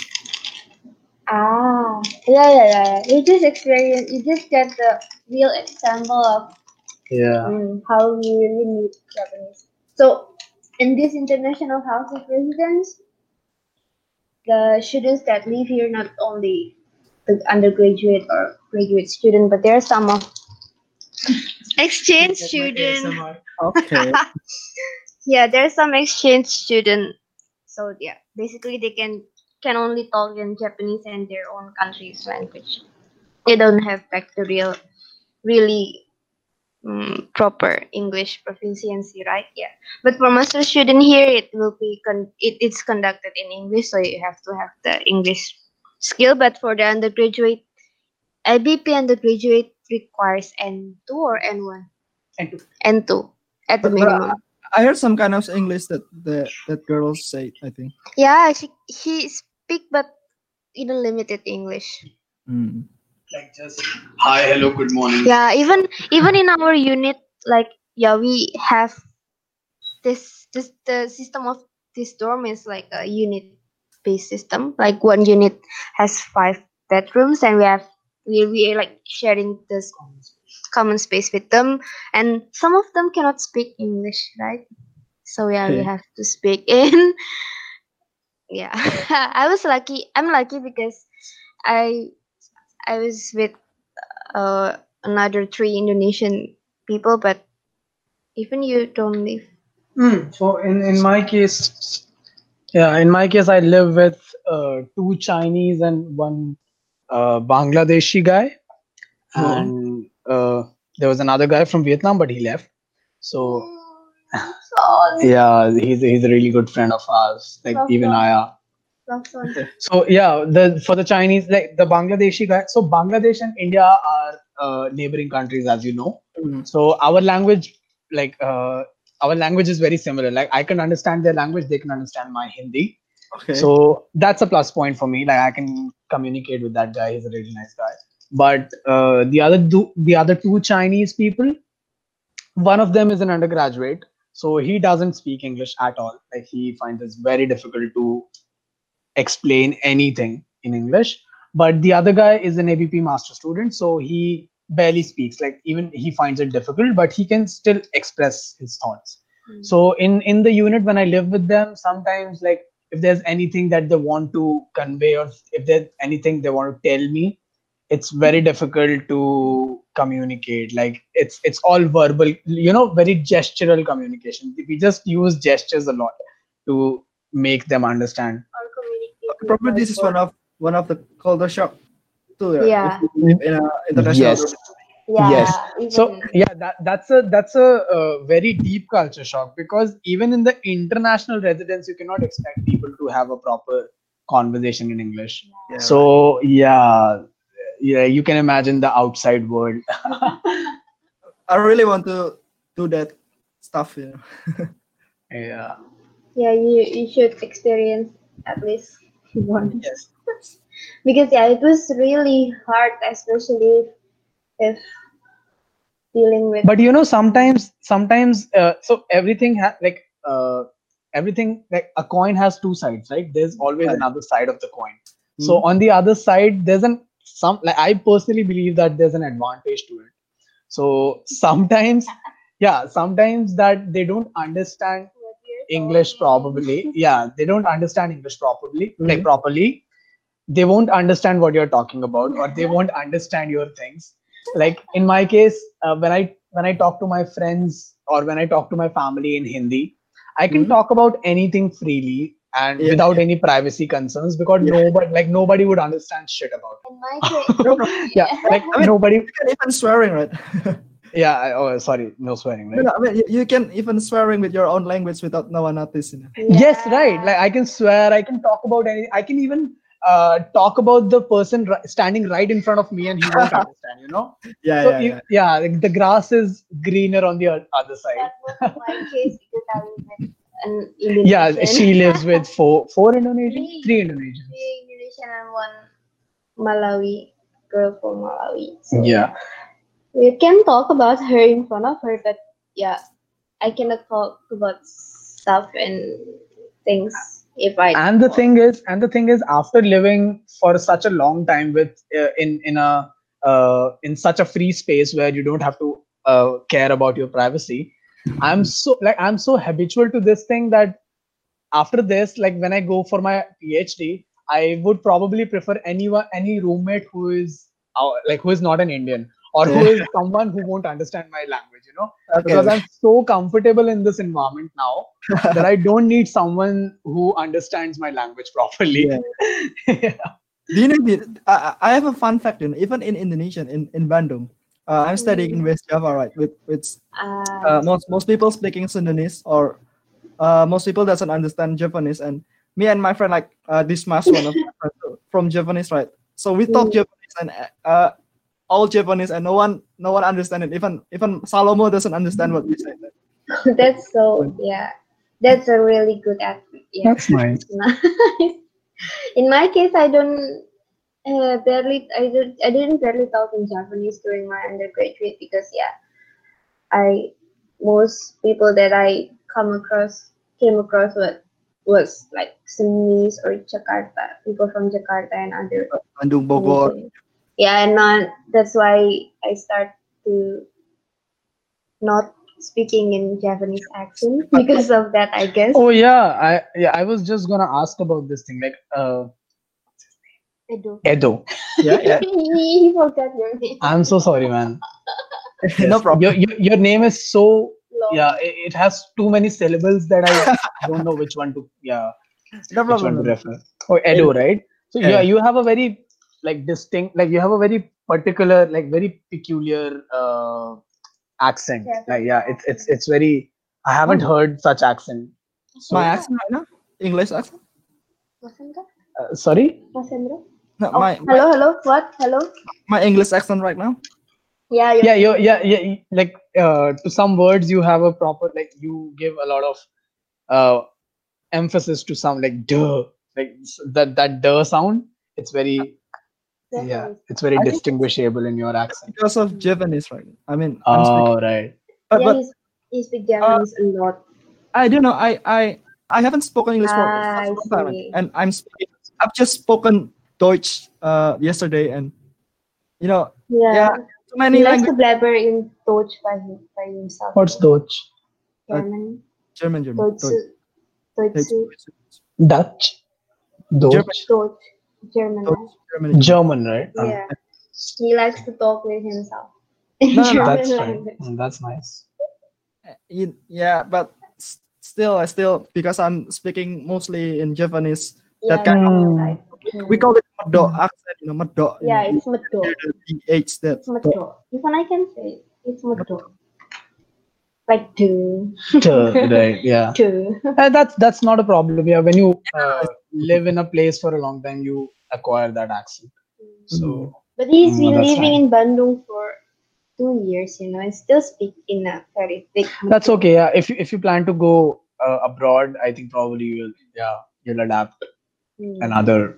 Speaker 5: Ah, yeah, yeah, yeah. yeah. You just experience. You just get the real example of
Speaker 2: Yeah.
Speaker 5: mm, how we really need Japanese. So, in this international house of residence, the students that live here not only the undergraduate or graduate student, but there are some of exchange student.
Speaker 1: Okay.
Speaker 5: Yeah, there's some exchange student. So yeah, basically they can can only talk in Japanese and their own country's language. They don't have like the real, really um, proper English proficiency, right? Yeah. But for master student here, it will be con- it, it's conducted in English, so you have to have the English skill. But for the undergraduate, I B P undergraduate requires N two or N one?
Speaker 2: And to-
Speaker 5: N two at the
Speaker 1: But- but I-
Speaker 5: minimum.
Speaker 1: I heard some kind of English that the that girls say. I think.
Speaker 5: Yeah, she she speak but in a limited English.
Speaker 1: Mm.
Speaker 2: like just hi, hello, good morning.
Speaker 5: Yeah, even even in our unit, like yeah, we have this this the system of this dorm is like a unit based system. Like one unit has five bedrooms, and we have we we are like sharing this common space with them, and some of them cannot speak English, right? So yeah, we
Speaker 1: Okay.
Speaker 5: have to speak in. Yeah, I was lucky. I'm lucky because I I was with uh, another three Indonesian people, but even you don't live.
Speaker 2: Mm, so in in my case, yeah, in my case, I live with uh, two Chinese and one uh, Bangladeshi guy,
Speaker 1: Oh.
Speaker 2: and uh, there was another guy from Vietnam, but he left. So
Speaker 5: Son.
Speaker 2: Yeah, he's he's a really good friend of ours. Like
Speaker 5: Love
Speaker 2: even
Speaker 5: Son.
Speaker 2: I are.
Speaker 5: Love Son.
Speaker 2: So yeah, the for the Chinese, like the Bangladeshi guy. So Bangladesh and India are uh, neighboring countries, as you know.
Speaker 1: Mm.
Speaker 2: So our language, like uh, our language is very similar. Like I can understand their language, they can understand my Hindi.
Speaker 1: Okay.
Speaker 2: So that's a plus point for me. Like I can communicate with that guy. He's a really nice guy. But uh, the other two, the other two Chinese people, one of them is an undergraduate, so he doesn't speak English at all. Like he finds it very difficult to explain anything in English. But the other guy is an A B P master student, so he barely speaks. Like even he finds it difficult, but he can still express his thoughts.
Speaker 5: Mm.
Speaker 2: So in in the unit when I live with them, sometimes like if there's anything that they want to convey or if there's anything they want to tell me, it's very difficult to communicate. Like it's it's all verbal, you know, very gestural communication. We just use gestures a lot to make them understand.
Speaker 5: Or communicate with
Speaker 1: Probably this is
Speaker 5: my
Speaker 1: one of one of the culture shock too. right?
Speaker 5: Yeah.
Speaker 1: If you live in a international.
Speaker 2: Yes.
Speaker 5: Yeah.
Speaker 2: Yes.
Speaker 5: Even,
Speaker 2: So yeah, that that's a that's a, uh very deep culture shock, because even in the international residence, you cannot expect people to have a proper conversation in English.
Speaker 1: Yeah, right.
Speaker 2: So yeah, yeah, you can imagine the outside world.
Speaker 1: I really want to do that stuff. You know.
Speaker 2: Yeah.
Speaker 5: yeah, you you should experience at least once.
Speaker 1: Yes.
Speaker 5: Because yeah, it was really hard, especially if dealing with
Speaker 2: But you know, sometimes sometimes uh, so everything ha- like uh, everything, like a coin has two sides, right? There's always
Speaker 1: Right.
Speaker 2: another side of the coin. So
Speaker 1: Mhm.
Speaker 2: on the other side, there's an some like I personally believe that there's an advantage to it. So sometimes, yeah, sometimes that they don't understand
Speaker 5: what you're
Speaker 2: English
Speaker 5: talking.
Speaker 2: properly. Yeah, they don't understand English properly, like
Speaker 1: Mhm.
Speaker 2: properly. They won't understand what you're talking about, or they won't understand your things. Like in my case, uh, when I when I talk to my friends or when I talk to my family in Hindi, I can
Speaker 1: Mhm.
Speaker 2: talk about anything freely and
Speaker 1: Yeah,
Speaker 2: without any privacy concerns, because
Speaker 1: Yeah.
Speaker 2: nobody like nobody would understand shit about it.
Speaker 5: In my case,
Speaker 1: No problem.
Speaker 2: Yeah, like
Speaker 1: I mean-
Speaker 2: nobody.
Speaker 1: You can even swearing, right?
Speaker 2: Yeah. I- Oh, sorry, no swearing,
Speaker 1: No,
Speaker 2: right?
Speaker 1: no, I mean, you, you can even swearing with your own language without no one noticing.
Speaker 2: Yes, right.
Speaker 5: yeah.
Speaker 2: Like I can swear, I can talk about any. I can even uh, talk about the person ri- standing right in front of me, and he won't understand. You know.
Speaker 1: Yeah,
Speaker 2: So
Speaker 1: yeah,
Speaker 2: if,
Speaker 1: yeah.
Speaker 2: yeah, like, the grass is greener on the o- other side.
Speaker 5: That was my case because I live with an Indonesian.
Speaker 2: Yeah, she lives with four four Indonesians,
Speaker 5: Three.
Speaker 2: three Indonesians.
Speaker 5: Three Indonesian and one Malawi girl from Malawi. So
Speaker 2: Yeah.
Speaker 5: we can talk about her in front of her, but yeah, I cannot talk about stuff and things if I.
Speaker 2: And the thing is, and the thing is, after living for such a long time with uh, in in a uh, in such a free space where you don't have to uh, care about your privacy, I'm so like I'm so habitual to this thing that after this, like when I go for my PhD, I would probably prefer anyone, any roommate who is uh, like who is not an Indian, or who is someone who won't understand my language, you know,
Speaker 1: Okay.
Speaker 2: because I'm so comfortable in this environment now that I don't need someone who understands my language properly.
Speaker 1: Yeah. Do you know? the- I, I have a fun fact. You know, even in Indonesian, in in Bandung, uh, I'm studying in West Java, right? With with
Speaker 5: Uh,
Speaker 1: uh, most most people speaking Sundanese, or uh, most people doesn't understand Japanese, and me and my friend, like uh, this mas one of my friends from Japanese, right? So we talk
Speaker 5: Mm.
Speaker 1: Japanese and uh, all Japanese, and no one no one understand it. Even even Salomo doesn't understand what we say.
Speaker 5: that's so yeah. That's a really good aspect. Yeah.
Speaker 2: That's nice.
Speaker 5: Nice. In my case, I don't uh, barely. I did. I didn't barely talk in Japanese during my undergraduate because yeah, I most people that I come across came across with was like Sunnis or Jakarta, people from Jakarta and other.
Speaker 1: Bandung, Bogor.
Speaker 5: region. Yeah, and not, that's why I start to not speaking in Japanese accent because of that, I guess.
Speaker 2: Oh yeah, I yeah I was just gonna ask about this thing, like uh,
Speaker 5: Edo.
Speaker 2: Edo.
Speaker 1: Yeah, yeah.
Speaker 5: He forgot your name.
Speaker 2: I'm so sorry, man.
Speaker 1: No
Speaker 2: Yes.
Speaker 1: problem.
Speaker 2: Your, your your name is so
Speaker 5: Long.
Speaker 2: yeah. It, it has too many syllables that I don't know which one to yeah
Speaker 1: No
Speaker 2: which one
Speaker 1: problem.
Speaker 2: to
Speaker 1: no
Speaker 2: refer. Oh, Edo, right? So
Speaker 1: Yeah.
Speaker 2: yeah, you have a very like distinct, like you have a very particular, like very peculiar uh, accent.
Speaker 5: Yeah,
Speaker 2: Like yeah, it's it's it's very. I haven't
Speaker 1: Oh.
Speaker 2: heard such accent. So,
Speaker 1: My accent right now, English accent.
Speaker 5: Masendra?
Speaker 2: uh, sorry.
Speaker 5: Masendra?
Speaker 1: No,
Speaker 5: Oh,
Speaker 1: my, my
Speaker 5: hello, hello. What? Hello?
Speaker 1: my English accent right now.
Speaker 5: Yeah, you're
Speaker 2: Yeah, you yeah, yeah. y- Like uh, to some words, you have a proper like you give a lot of uh emphasis to some like duh, like s- that that duh sound. It's very
Speaker 5: That's
Speaker 2: yeah,
Speaker 5: nice.
Speaker 2: it's very
Speaker 1: I think it's
Speaker 2: distinguishable in your accent.
Speaker 1: because of
Speaker 5: Mm.
Speaker 1: Japanese, right? I mean, I'm speaking,
Speaker 2: Oh right.
Speaker 1: but
Speaker 5: Yeah,
Speaker 1: but
Speaker 5: he's he speaks
Speaker 1: uh,
Speaker 5: Japanese a lot.
Speaker 1: I don't know. I I I haven't spoken English for
Speaker 5: Ah,
Speaker 1: such a
Speaker 5: I
Speaker 1: long time,
Speaker 5: see.
Speaker 1: and I'm speaking. I've just spoken Deutsch uh yesterday, and you know, yeah,
Speaker 5: Yeah,
Speaker 1: too
Speaker 5: he
Speaker 1: many
Speaker 5: likes to
Speaker 1: languages.
Speaker 5: blabber in Deutsch by him, by himself.
Speaker 2: What's Dutch?
Speaker 1: Uh,
Speaker 5: German,
Speaker 1: German, German,
Speaker 5: Deutsch,
Speaker 1: Deutsch,
Speaker 5: Deutsch,
Speaker 1: Deutsch,
Speaker 2: Dutch?
Speaker 1: German,
Speaker 2: Dutch?
Speaker 5: Deutsch, German.
Speaker 1: Deutsch,
Speaker 5: right?
Speaker 1: Germany, German.
Speaker 2: German, right? Uh,
Speaker 5: Yeah, he likes to talk with himself in
Speaker 1: No, no, no.
Speaker 5: German
Speaker 2: that's right.
Speaker 5: language.
Speaker 2: Mm, That's nice.
Speaker 1: Uh, you- Yeah, but s- still, I still because I'm speaking mostly in Japanese.
Speaker 5: Yeah,
Speaker 1: That kind
Speaker 5: I
Speaker 1: of
Speaker 5: know,
Speaker 2: Mm.
Speaker 5: right?
Speaker 1: we
Speaker 5: Mm.
Speaker 1: call it medok
Speaker 2: Mm.
Speaker 1: accent, you know, medok. You
Speaker 5: Yeah,
Speaker 1: know, you
Speaker 5: it's Medok.
Speaker 1: hear the th that
Speaker 5: It's Medok. Even I can say it. It's Medok. Like two,
Speaker 2: Duh, right? Yeah.
Speaker 5: two.
Speaker 2: Uh, that's that's not a problem. Yeah, when you uh, live in a place for a long time, you acquire that accent. So
Speaker 5: But he's
Speaker 2: mm,
Speaker 5: been
Speaker 2: that's
Speaker 5: living
Speaker 2: fine.
Speaker 5: in Bandung for two years, you know, and still speak in a very thick
Speaker 2: That's
Speaker 5: Medok.
Speaker 2: okay. Yeah, if you if you plan to go uh, abroad, I think probably you'll yeah you'll adapt
Speaker 5: Mm.
Speaker 2: another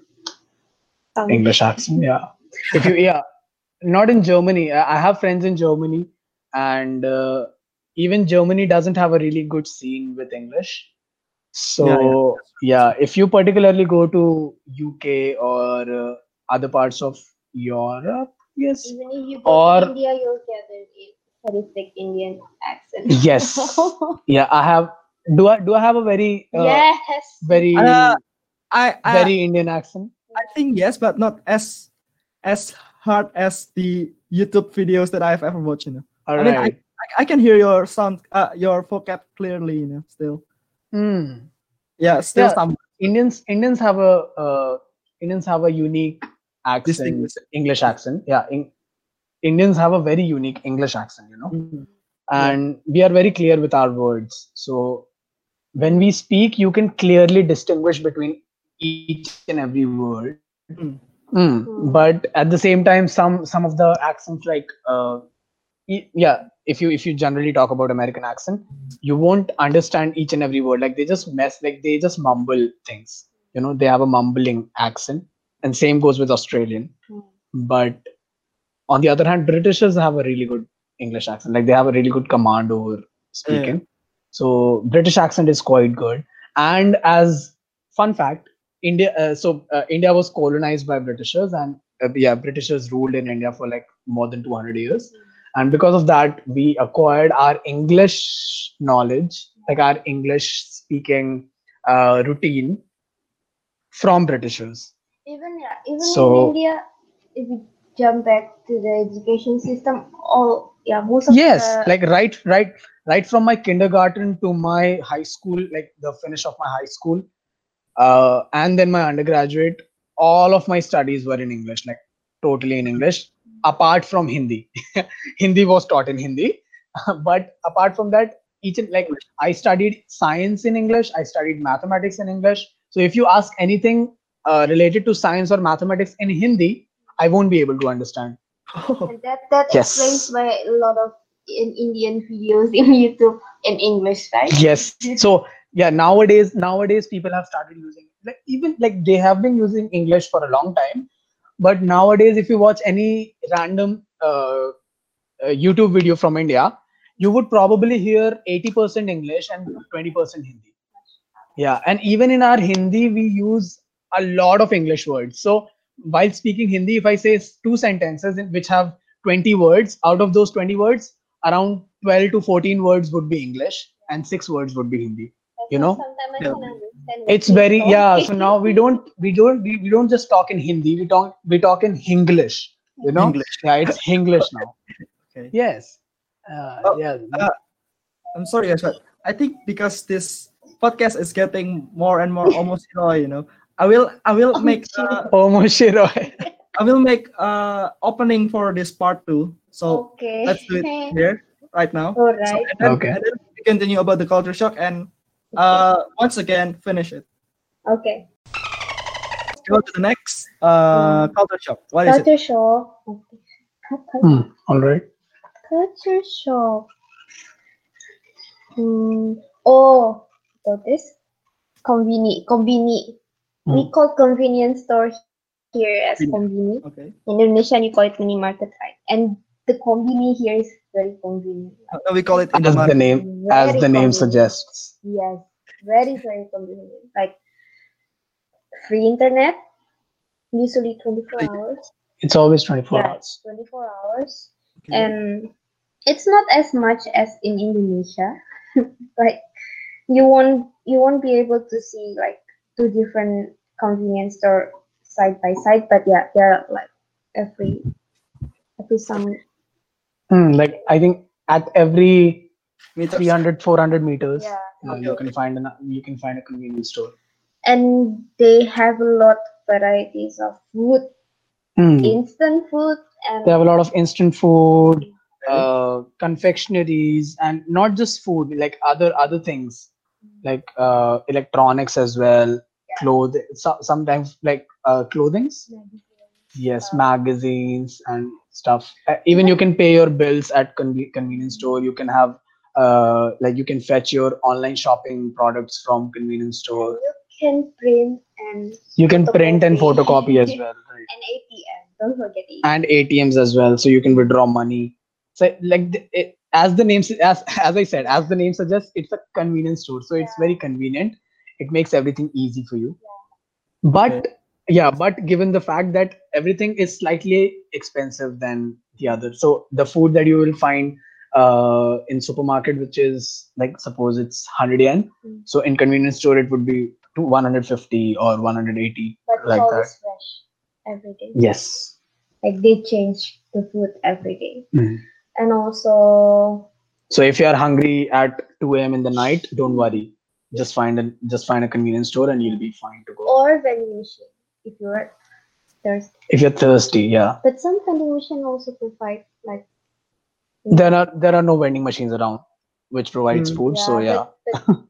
Speaker 5: Um,
Speaker 2: English accent. Yeah, if you yeah not in Germany. I I have friends in Germany, and uh, even Germany doesn't have a really good scene with English.
Speaker 1: Yeah, yeah.
Speaker 2: So yeah, if you particularly go to U K or uh, other parts of Europe, yes,
Speaker 5: Even if you go to
Speaker 2: or
Speaker 5: India, you'll get a very thick Indian accent.
Speaker 2: yes, yeah, I have. Do I do I have a very uh,
Speaker 5: Yes.
Speaker 2: very
Speaker 1: Uh, I, I,
Speaker 2: very Indian accent?
Speaker 1: I think yes, but not as as hard as the YouTube videos that I've ever watched. You know,
Speaker 2: All
Speaker 1: I mean, I,
Speaker 2: right.
Speaker 1: I I can hear your sound, uh, your vocab clearly. You know, still,
Speaker 2: Hmm.
Speaker 1: yeah, still
Speaker 2: Yeah,
Speaker 1: some
Speaker 2: Indians Indians have a uh, Indians have a unique accent,
Speaker 1: distinguished.
Speaker 2: English accent. Yeah, in, Indians have a very unique English accent. You know,
Speaker 1: Mm,
Speaker 2: and we are very clear with our words. So when we speak, you can clearly distinguish between each and every word.
Speaker 1: mm,
Speaker 2: Mm. But at the same time, some some of the accents like uh, e- yeah, if you if you generally talk about American accent, you won't understand each and every word. Like they just mess, like they just mumble things. You know, they have a mumbling accent, and same goes with Australian. But on the other hand, Britishers have a really good English accent. Like they have a really good command over speaking. So British accent is quite good. And as fun fact, India. Uh, so uh, India was colonized by Britishers, and uh, yeah, Britishers ruled in India for like more than two hundred years. And because of that, we acquired our English knowledge, like our English speaking uh, routine from Britishers.
Speaker 5: Even yeah, even
Speaker 2: So-
Speaker 5: in India, if we jump back to the education system, all yeah, most of
Speaker 2: Yes,
Speaker 5: the
Speaker 2: like right, right, right from my kindergarten to my high school, like the finish of my high school, uh, and then my undergraduate, all of my studies were in English, like totally in English, apart from Hindi. Hindi was taught in Hindi, but apart from that, each and like I studied science in English, I studied mathematics in English. So if you ask anything uh, related to science or mathematics in Hindi, I won't be able to understand.
Speaker 5: and that that
Speaker 2: Yes.
Speaker 5: explains why a lot of in Indian videos in YouTube in English, right?
Speaker 2: Yes. So yeah, nowadays nowadays people have started using like even like they have been using English for a long time, but nowadays if you watch any random uh, uh, YouTube video from India, you would probably hear eighty percent English and twenty percent Hindi. Yeah, and even in our Hindi, we use a lot of English words. So while speaking Hindi, if I say s- two sentences in which have twenty words, out of those twenty words, around twelve to fourteen words would be English and six words would be Hindi. You know?
Speaker 5: Sometimes I
Speaker 1: Yeah.
Speaker 5: can understand. what
Speaker 2: It's
Speaker 5: he's
Speaker 2: very yeah.
Speaker 5: talking.
Speaker 2: So now we don't we don't we, we don't just talk in Hindi. We talk we talk in Hinglish. You know?
Speaker 1: English.
Speaker 2: Yeah, it's Hinglish now.
Speaker 1: Okay.
Speaker 2: Yes. Uh,
Speaker 1: Oh,
Speaker 2: yeah.
Speaker 1: uh, I'm sorry, guys, but I think because this podcast is getting more and more almost you know, I will I will make uh,
Speaker 2: Almost Shiroi.
Speaker 1: I will make uh opening for this part two. So
Speaker 5: Okay.
Speaker 1: let's do it here right now.
Speaker 5: All
Speaker 1: So,
Speaker 5: right.
Speaker 1: and then,
Speaker 2: Okay.
Speaker 1: and then continue about the culture shock and uh, once again finish it.
Speaker 5: Okay.
Speaker 1: Let's go to the next uh,
Speaker 5: Mm.
Speaker 1: culture shock. What is it?
Speaker 5: Culture shock. Okay.
Speaker 2: Hmm. All right.
Speaker 5: Culture shock. Hmm. Oh, so this conveni conveni. We
Speaker 2: Hmm.
Speaker 5: call convenience store here as
Speaker 1: Conveni.
Speaker 5: conveni.
Speaker 1: Okay.
Speaker 5: In Indonesia, you call it mini market, right? And the conveni here is very convenient.
Speaker 1: Uh, we call it
Speaker 2: As the
Speaker 1: Indomaret.
Speaker 2: name, as
Speaker 5: Very
Speaker 2: the name
Speaker 5: convenient.
Speaker 2: suggests.
Speaker 5: Yes, very very convenient. Like free internet, usually twenty-four hours.
Speaker 2: It's always twenty-four
Speaker 5: Yeah,
Speaker 2: hours.
Speaker 5: twenty-four hours.
Speaker 1: Okay.
Speaker 5: And it's not as much as in Indonesia. Like you won't you won't be able to see like two different convenience store side by side, but yeah, they're like every every some
Speaker 2: Hmm. Like I think at every
Speaker 1: Meters.
Speaker 2: three hundred, four hundred meters,
Speaker 5: yeah.
Speaker 2: uh,
Speaker 1: Okay,
Speaker 2: you
Speaker 1: okay.
Speaker 2: can find an you can find a convenience store.
Speaker 5: And they have a lot of varieties of food,
Speaker 2: Hmm.
Speaker 5: instant food, and
Speaker 2: They have a lot of instant food,
Speaker 1: Okay.
Speaker 2: uh, confectionaries, and not just food, like other other things, like uh, electronics as well, clothes. So, sometimes like uh, clothings. Yes, magazines and stuff. Uh, even you can pay your bills at conve- convenience store. You can have uh, like you can fetch your online shopping products from convenience store.
Speaker 5: you can print and
Speaker 2: You can print and
Speaker 5: photocopy.
Speaker 2: photocopy as well, right?
Speaker 5: And A T M. Don't forget A T M.
Speaker 2: And A T Ms as well, so you can withdraw money. So like the, it, as the name s- as as I said, as the name suggests, it's a convenience store, so it's very convenient. It makes everything easy for you. But
Speaker 1: Okay.
Speaker 2: yeah, but given the fact that everything is slightly expensive than the other, so the food that you will find uh, in supermarket, which is like suppose it's one hundred yen,
Speaker 5: Mm.
Speaker 2: so in convenience store it would be to one hundred fifty or one hundred eighty,
Speaker 5: But it's
Speaker 2: like that.
Speaker 5: always fresh every day.
Speaker 2: Yes.
Speaker 5: Like they change the food every day.
Speaker 2: Mhm.
Speaker 5: And also
Speaker 2: So if you are hungry at two a m in the night, don't worry. Just find a just find a convenience store and you'll be fine to go.
Speaker 5: or vending machine if you're thirsty.
Speaker 2: If you're thirsty, yeah.
Speaker 5: But some vending machine also provide like
Speaker 2: There are there are no vending machines around which provides
Speaker 1: Mm.
Speaker 2: food. So yeah.
Speaker 5: But, but,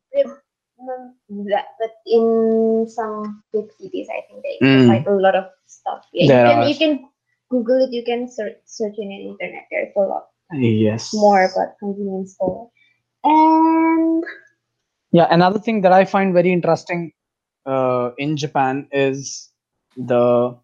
Speaker 5: mm, that- but in some big cities, I think they
Speaker 2: Mm.
Speaker 5: provide a lot of stuff. Yeah,
Speaker 2: There
Speaker 5: you can
Speaker 2: are.
Speaker 5: you can Google it. You can search search in the internet. There's a lot
Speaker 2: Yes.
Speaker 5: more about convenience store. And
Speaker 2: Yeah, another thing that I find very interesting uh, in Japan is the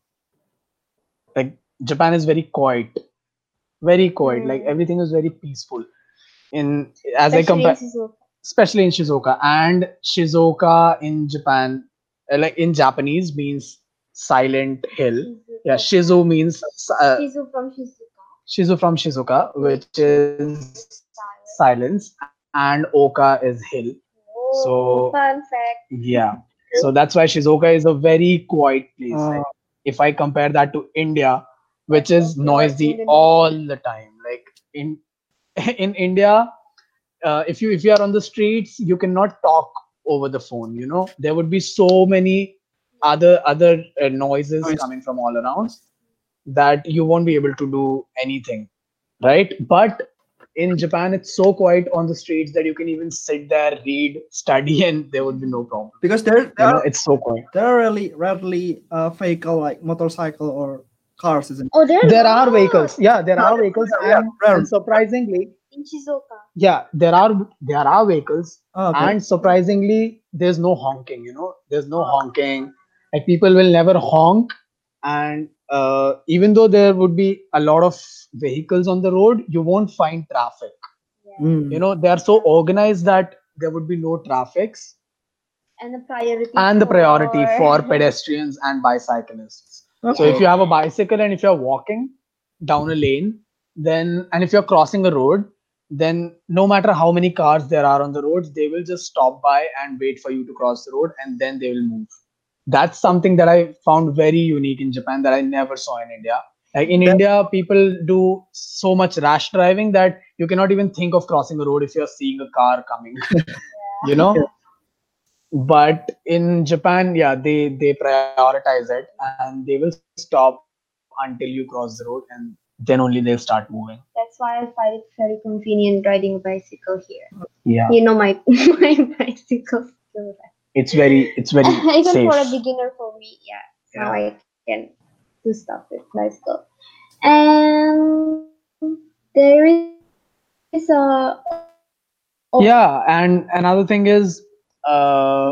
Speaker 2: like Japan is very quiet, very quiet. Like
Speaker 5: Mm.
Speaker 2: everything is very peaceful. In as I
Speaker 5: especially in
Speaker 2: compare,
Speaker 5: Shizuoka.
Speaker 2: especially in Shizuoka, and Shizuoka in Japan, uh, like in Japanese means silent hill. Yeah, Shizu means uh,
Speaker 5: Shizu from Shizuoka.
Speaker 2: Shizu from Shizuoka, which is silence, and Oka is hill.
Speaker 5: Oh,
Speaker 2: So-
Speaker 5: fun fact.
Speaker 2: Yeah. So that's why Shizuoka is a very quiet place.
Speaker 1: Oh.
Speaker 2: Like, if I compare that to India, which is
Speaker 5: Okay,
Speaker 2: noisy
Speaker 5: Indonesia.
Speaker 2: all the time. Like in in India, uh, if you if you are on the streets, you cannot talk over the phone. You know, there would be so many other other uh, noises
Speaker 1: Noise.
Speaker 2: coming from all around that you won't be able to do anything, right? But in Japan, it's so quiet on the streets that you can even sit there, read, study, and there would be no problem.
Speaker 1: Because there,
Speaker 2: You
Speaker 1: there
Speaker 2: know,
Speaker 1: are
Speaker 2: it's so quiet.
Speaker 1: there are really rarely uh, vehicle like motorcycle or cars, isn't it?
Speaker 5: Oh, there,
Speaker 2: There are vehicles. Yeah, there are
Speaker 1: Yeah,
Speaker 2: vehicles,
Speaker 1: yeah,
Speaker 2: and,
Speaker 1: rare.
Speaker 2: and surprisingly,
Speaker 5: in Shizuoka.
Speaker 2: yeah, there are there are vehicles,
Speaker 1: Oh, okay.
Speaker 2: and surprisingly, there's no honking. You know, there's no honking. Like people will never honk, and uh, even though there would be a lot of vehicles on the road, you won't find traffic.
Speaker 1: Mm.
Speaker 2: You know, they are so organized that there would be no traffics,
Speaker 5: And the priority
Speaker 2: and the priority for
Speaker 5: for
Speaker 2: pedestrians and bicyclists. So
Speaker 1: Okay.
Speaker 2: if you have a bicycle and if you're walking down a lane, then and if you're crossing a road, then no matter how many cars there are on the roads, they will just stop by and wait for you to cross the road, and then they will move. That's something that I found very unique in Japan that I never saw in India. Like in
Speaker 1: That-
Speaker 2: India, people do so much rash driving that you cannot even think of crossing a road if you're seeing a car coming. You know. But in Japan, yeah, they they prioritize it and they will stop until you cross the road, and then only they'll start moving.
Speaker 5: That's why I find it very convenient riding a bicycle here.
Speaker 2: Yeah,
Speaker 5: You know my my bicycle skill.
Speaker 2: it's very it's very
Speaker 5: Even
Speaker 2: safe.
Speaker 5: for a beginner, for me, yeah. Now
Speaker 2: Yeah.
Speaker 5: I can do stuff with bicycle. And there is a oh,
Speaker 2: Yeah, and another thing is uh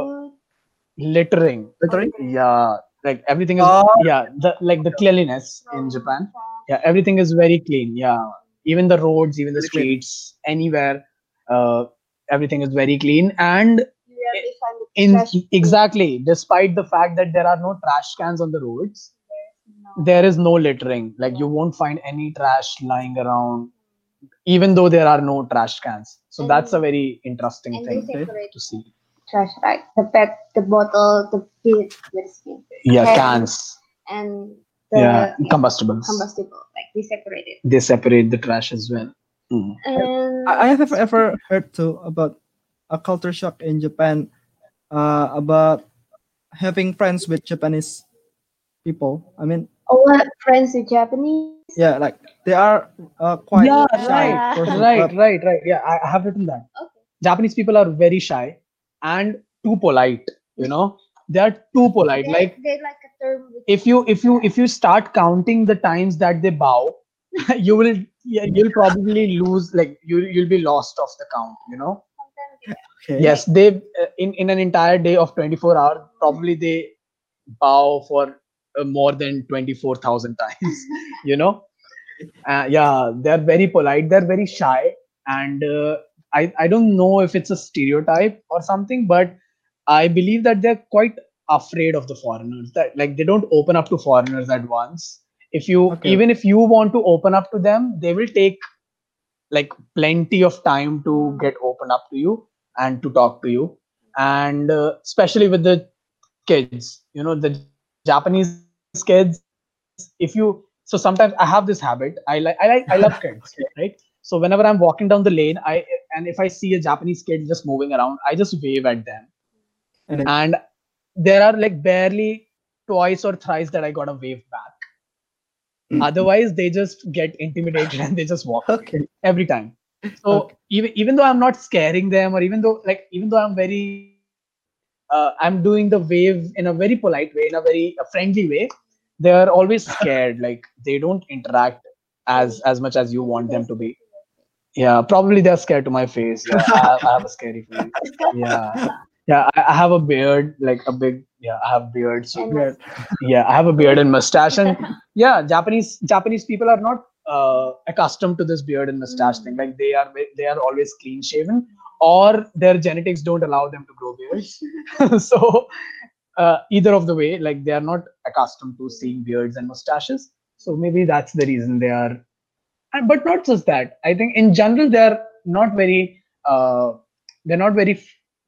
Speaker 2: littering.
Speaker 1: Literally?
Speaker 2: Yeah, like everything is,
Speaker 1: Oh,
Speaker 2: yeah, the like the cleanliness in Japan. Yeah, everything is very clean. Yeah, even the roads, even the
Speaker 1: Really clean.
Speaker 2: streets, anywhere, uh, everything is very clean. And
Speaker 5: you rarely find the
Speaker 2: in
Speaker 5: trash bin.
Speaker 2: exactly, despite the fact that there are no trash cans on the roads,
Speaker 5: No.
Speaker 2: there is no littering. Like you won't find any trash lying around, even though there are no trash cans. So
Speaker 5: And-
Speaker 2: that's a very interesting
Speaker 5: And they
Speaker 2: thing
Speaker 5: separate
Speaker 2: to see.
Speaker 5: trash, right? The pet, the bottle, the bit, the skin,
Speaker 2: Yeah,
Speaker 5: Cans.
Speaker 2: cans.
Speaker 5: and the
Speaker 2: Yeah, combustibles.
Speaker 5: combustible. Like they separate it.
Speaker 2: They separate the trash as well. Mm.
Speaker 5: And
Speaker 1: I I have ever, ever heard too about a culture shock in Japan, uh, about having friends with Japanese people. I mean,
Speaker 5: oh, what friends with Japanese?
Speaker 1: yeah, like they are uh, quite
Speaker 2: Yeah,
Speaker 1: shy
Speaker 5: right,
Speaker 1: person,
Speaker 2: Right,
Speaker 1: but
Speaker 2: right, right. Yeah, I I have written that.
Speaker 5: Okay.
Speaker 2: Japanese people are very shy and too polite. You know, they are too polite.
Speaker 5: They,
Speaker 2: Like
Speaker 5: they like a term with
Speaker 2: if you if you if you start counting the times that they bow, you will yeah, you'll probably lose. Like you you'll be lost off the count. You know.
Speaker 5: sometimes yeah.
Speaker 1: okay.
Speaker 2: Yes, they uh, in in an entire day of twenty-four hours, probably they bow for uh, more than twenty-four thousand times. You know. Uh, yeah, they're very polite. They're very shy, and uh, I I don't know if it's a stereotype or something, but I believe that they're quite afraid of the foreigners. That like they don't open up to foreigners at once. If you
Speaker 1: Okay.
Speaker 2: even if you want to open up to them, they will take like plenty of time to get open up to you and to talk to you, and uh, especially with the kids, you know, the Japanese kids. If you so sometimes I have this habit. I like I like I love kids, right? So whenever I'm walking down the lane, I and if I see a Japanese kid just moving around, I just wave at them,
Speaker 1: And then,
Speaker 2: and there are like barely twice or thrice that I got a wave back. Otherwise, they just get intimidated and they just walk away
Speaker 1: okay.
Speaker 2: every time. So
Speaker 1: Okay.
Speaker 2: even even though I'm not scaring them, or even though like even though I'm very uh, I'm doing the wave in a very polite way, in a very uh, friendly way, they are always scared. Like they don't interact as as much as you want them to be. Yeah, probably they're scared to my face. Yeah, I have, I have a scary face. Yeah, yeah, I, I have a beard, like a big. Yeah, I have beard. So
Speaker 5: And
Speaker 1: Weird.
Speaker 2: yeah, I have a beard and mustache, and yeah, Japanese Japanese people are not uh, accustomed to this beard and mustache thing. Like they are ve- they are always clean shaven, or their genetics don't allow them to grow beards. So uh, either of the way, like they are not accustomed to seeing beards and mustaches. So maybe that's the reason they are. And, but not just that. I think in general they are not very. Uh, they're not very.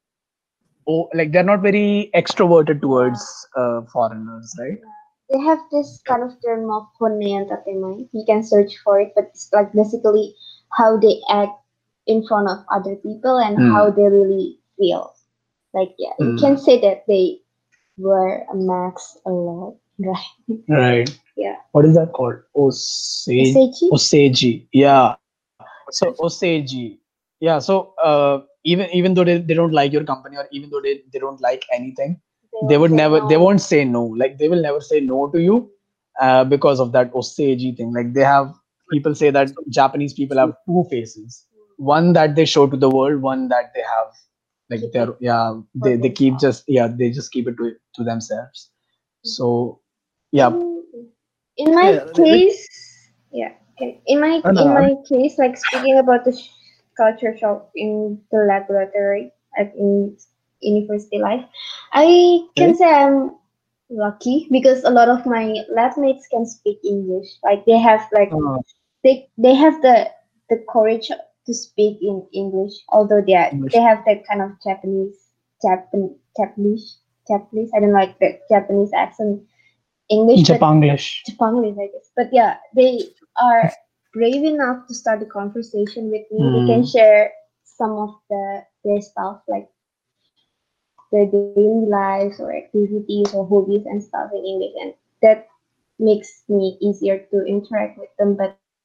Speaker 2: Oh, like they're not very extroverted towards uh, foreigners, right?
Speaker 5: they have this kind of term of honne and tatemae. You can search for it, but it's like basically how they act in front of other people and
Speaker 2: Hmm.
Speaker 5: how they really feel. Like yeah, you
Speaker 2: Hmm.
Speaker 5: can say that they wear a mask a lot, right?
Speaker 2: Right.
Speaker 5: Yeah.
Speaker 2: What is that called? Osage.
Speaker 5: Osechi?
Speaker 2: Oseji. Yeah. So Oseji. Yeah. So uh, even even though they, they don't like your company, or even though they, they don't like anything, they
Speaker 5: will
Speaker 2: would
Speaker 5: say
Speaker 2: never they
Speaker 5: no.
Speaker 2: won't say no. Like they will never say no to you uh, because of that Oseji thing. Like they have people say that Japanese people have two faces. One that they show to the world, one that they have like
Speaker 5: Keep
Speaker 2: they're
Speaker 5: it
Speaker 2: yeah
Speaker 5: for
Speaker 2: they, they keep
Speaker 5: themselves.
Speaker 2: just yeah they just keep it to to themselves. So yeah.
Speaker 5: In, in my
Speaker 1: Yeah. the- the-
Speaker 5: case, yeah. okay. In my
Speaker 1: Oh, no,
Speaker 5: in
Speaker 1: I
Speaker 5: my case, like speaking about the sh- culture shock in the laboratory, like in university life, I can
Speaker 1: Okay.
Speaker 5: say I'm lucky because a lot of my lab mates can speak English. Like they have like
Speaker 1: Oh,
Speaker 5: they they have the the courage to speak in English, although they are,
Speaker 1: English.
Speaker 5: they have that kind of Japanese Japan Japanese Japanese. I don't like the Japanese accent English, but
Speaker 2: Japanglish.
Speaker 5: Japanese, I guess. But yeah, they are brave enough to start a conversation with me. They can
Speaker 2: Mm.
Speaker 5: share some of the their stuff, like their daily lives or activities or hobbies and stuff in English, and that makes me easier to interact with them. But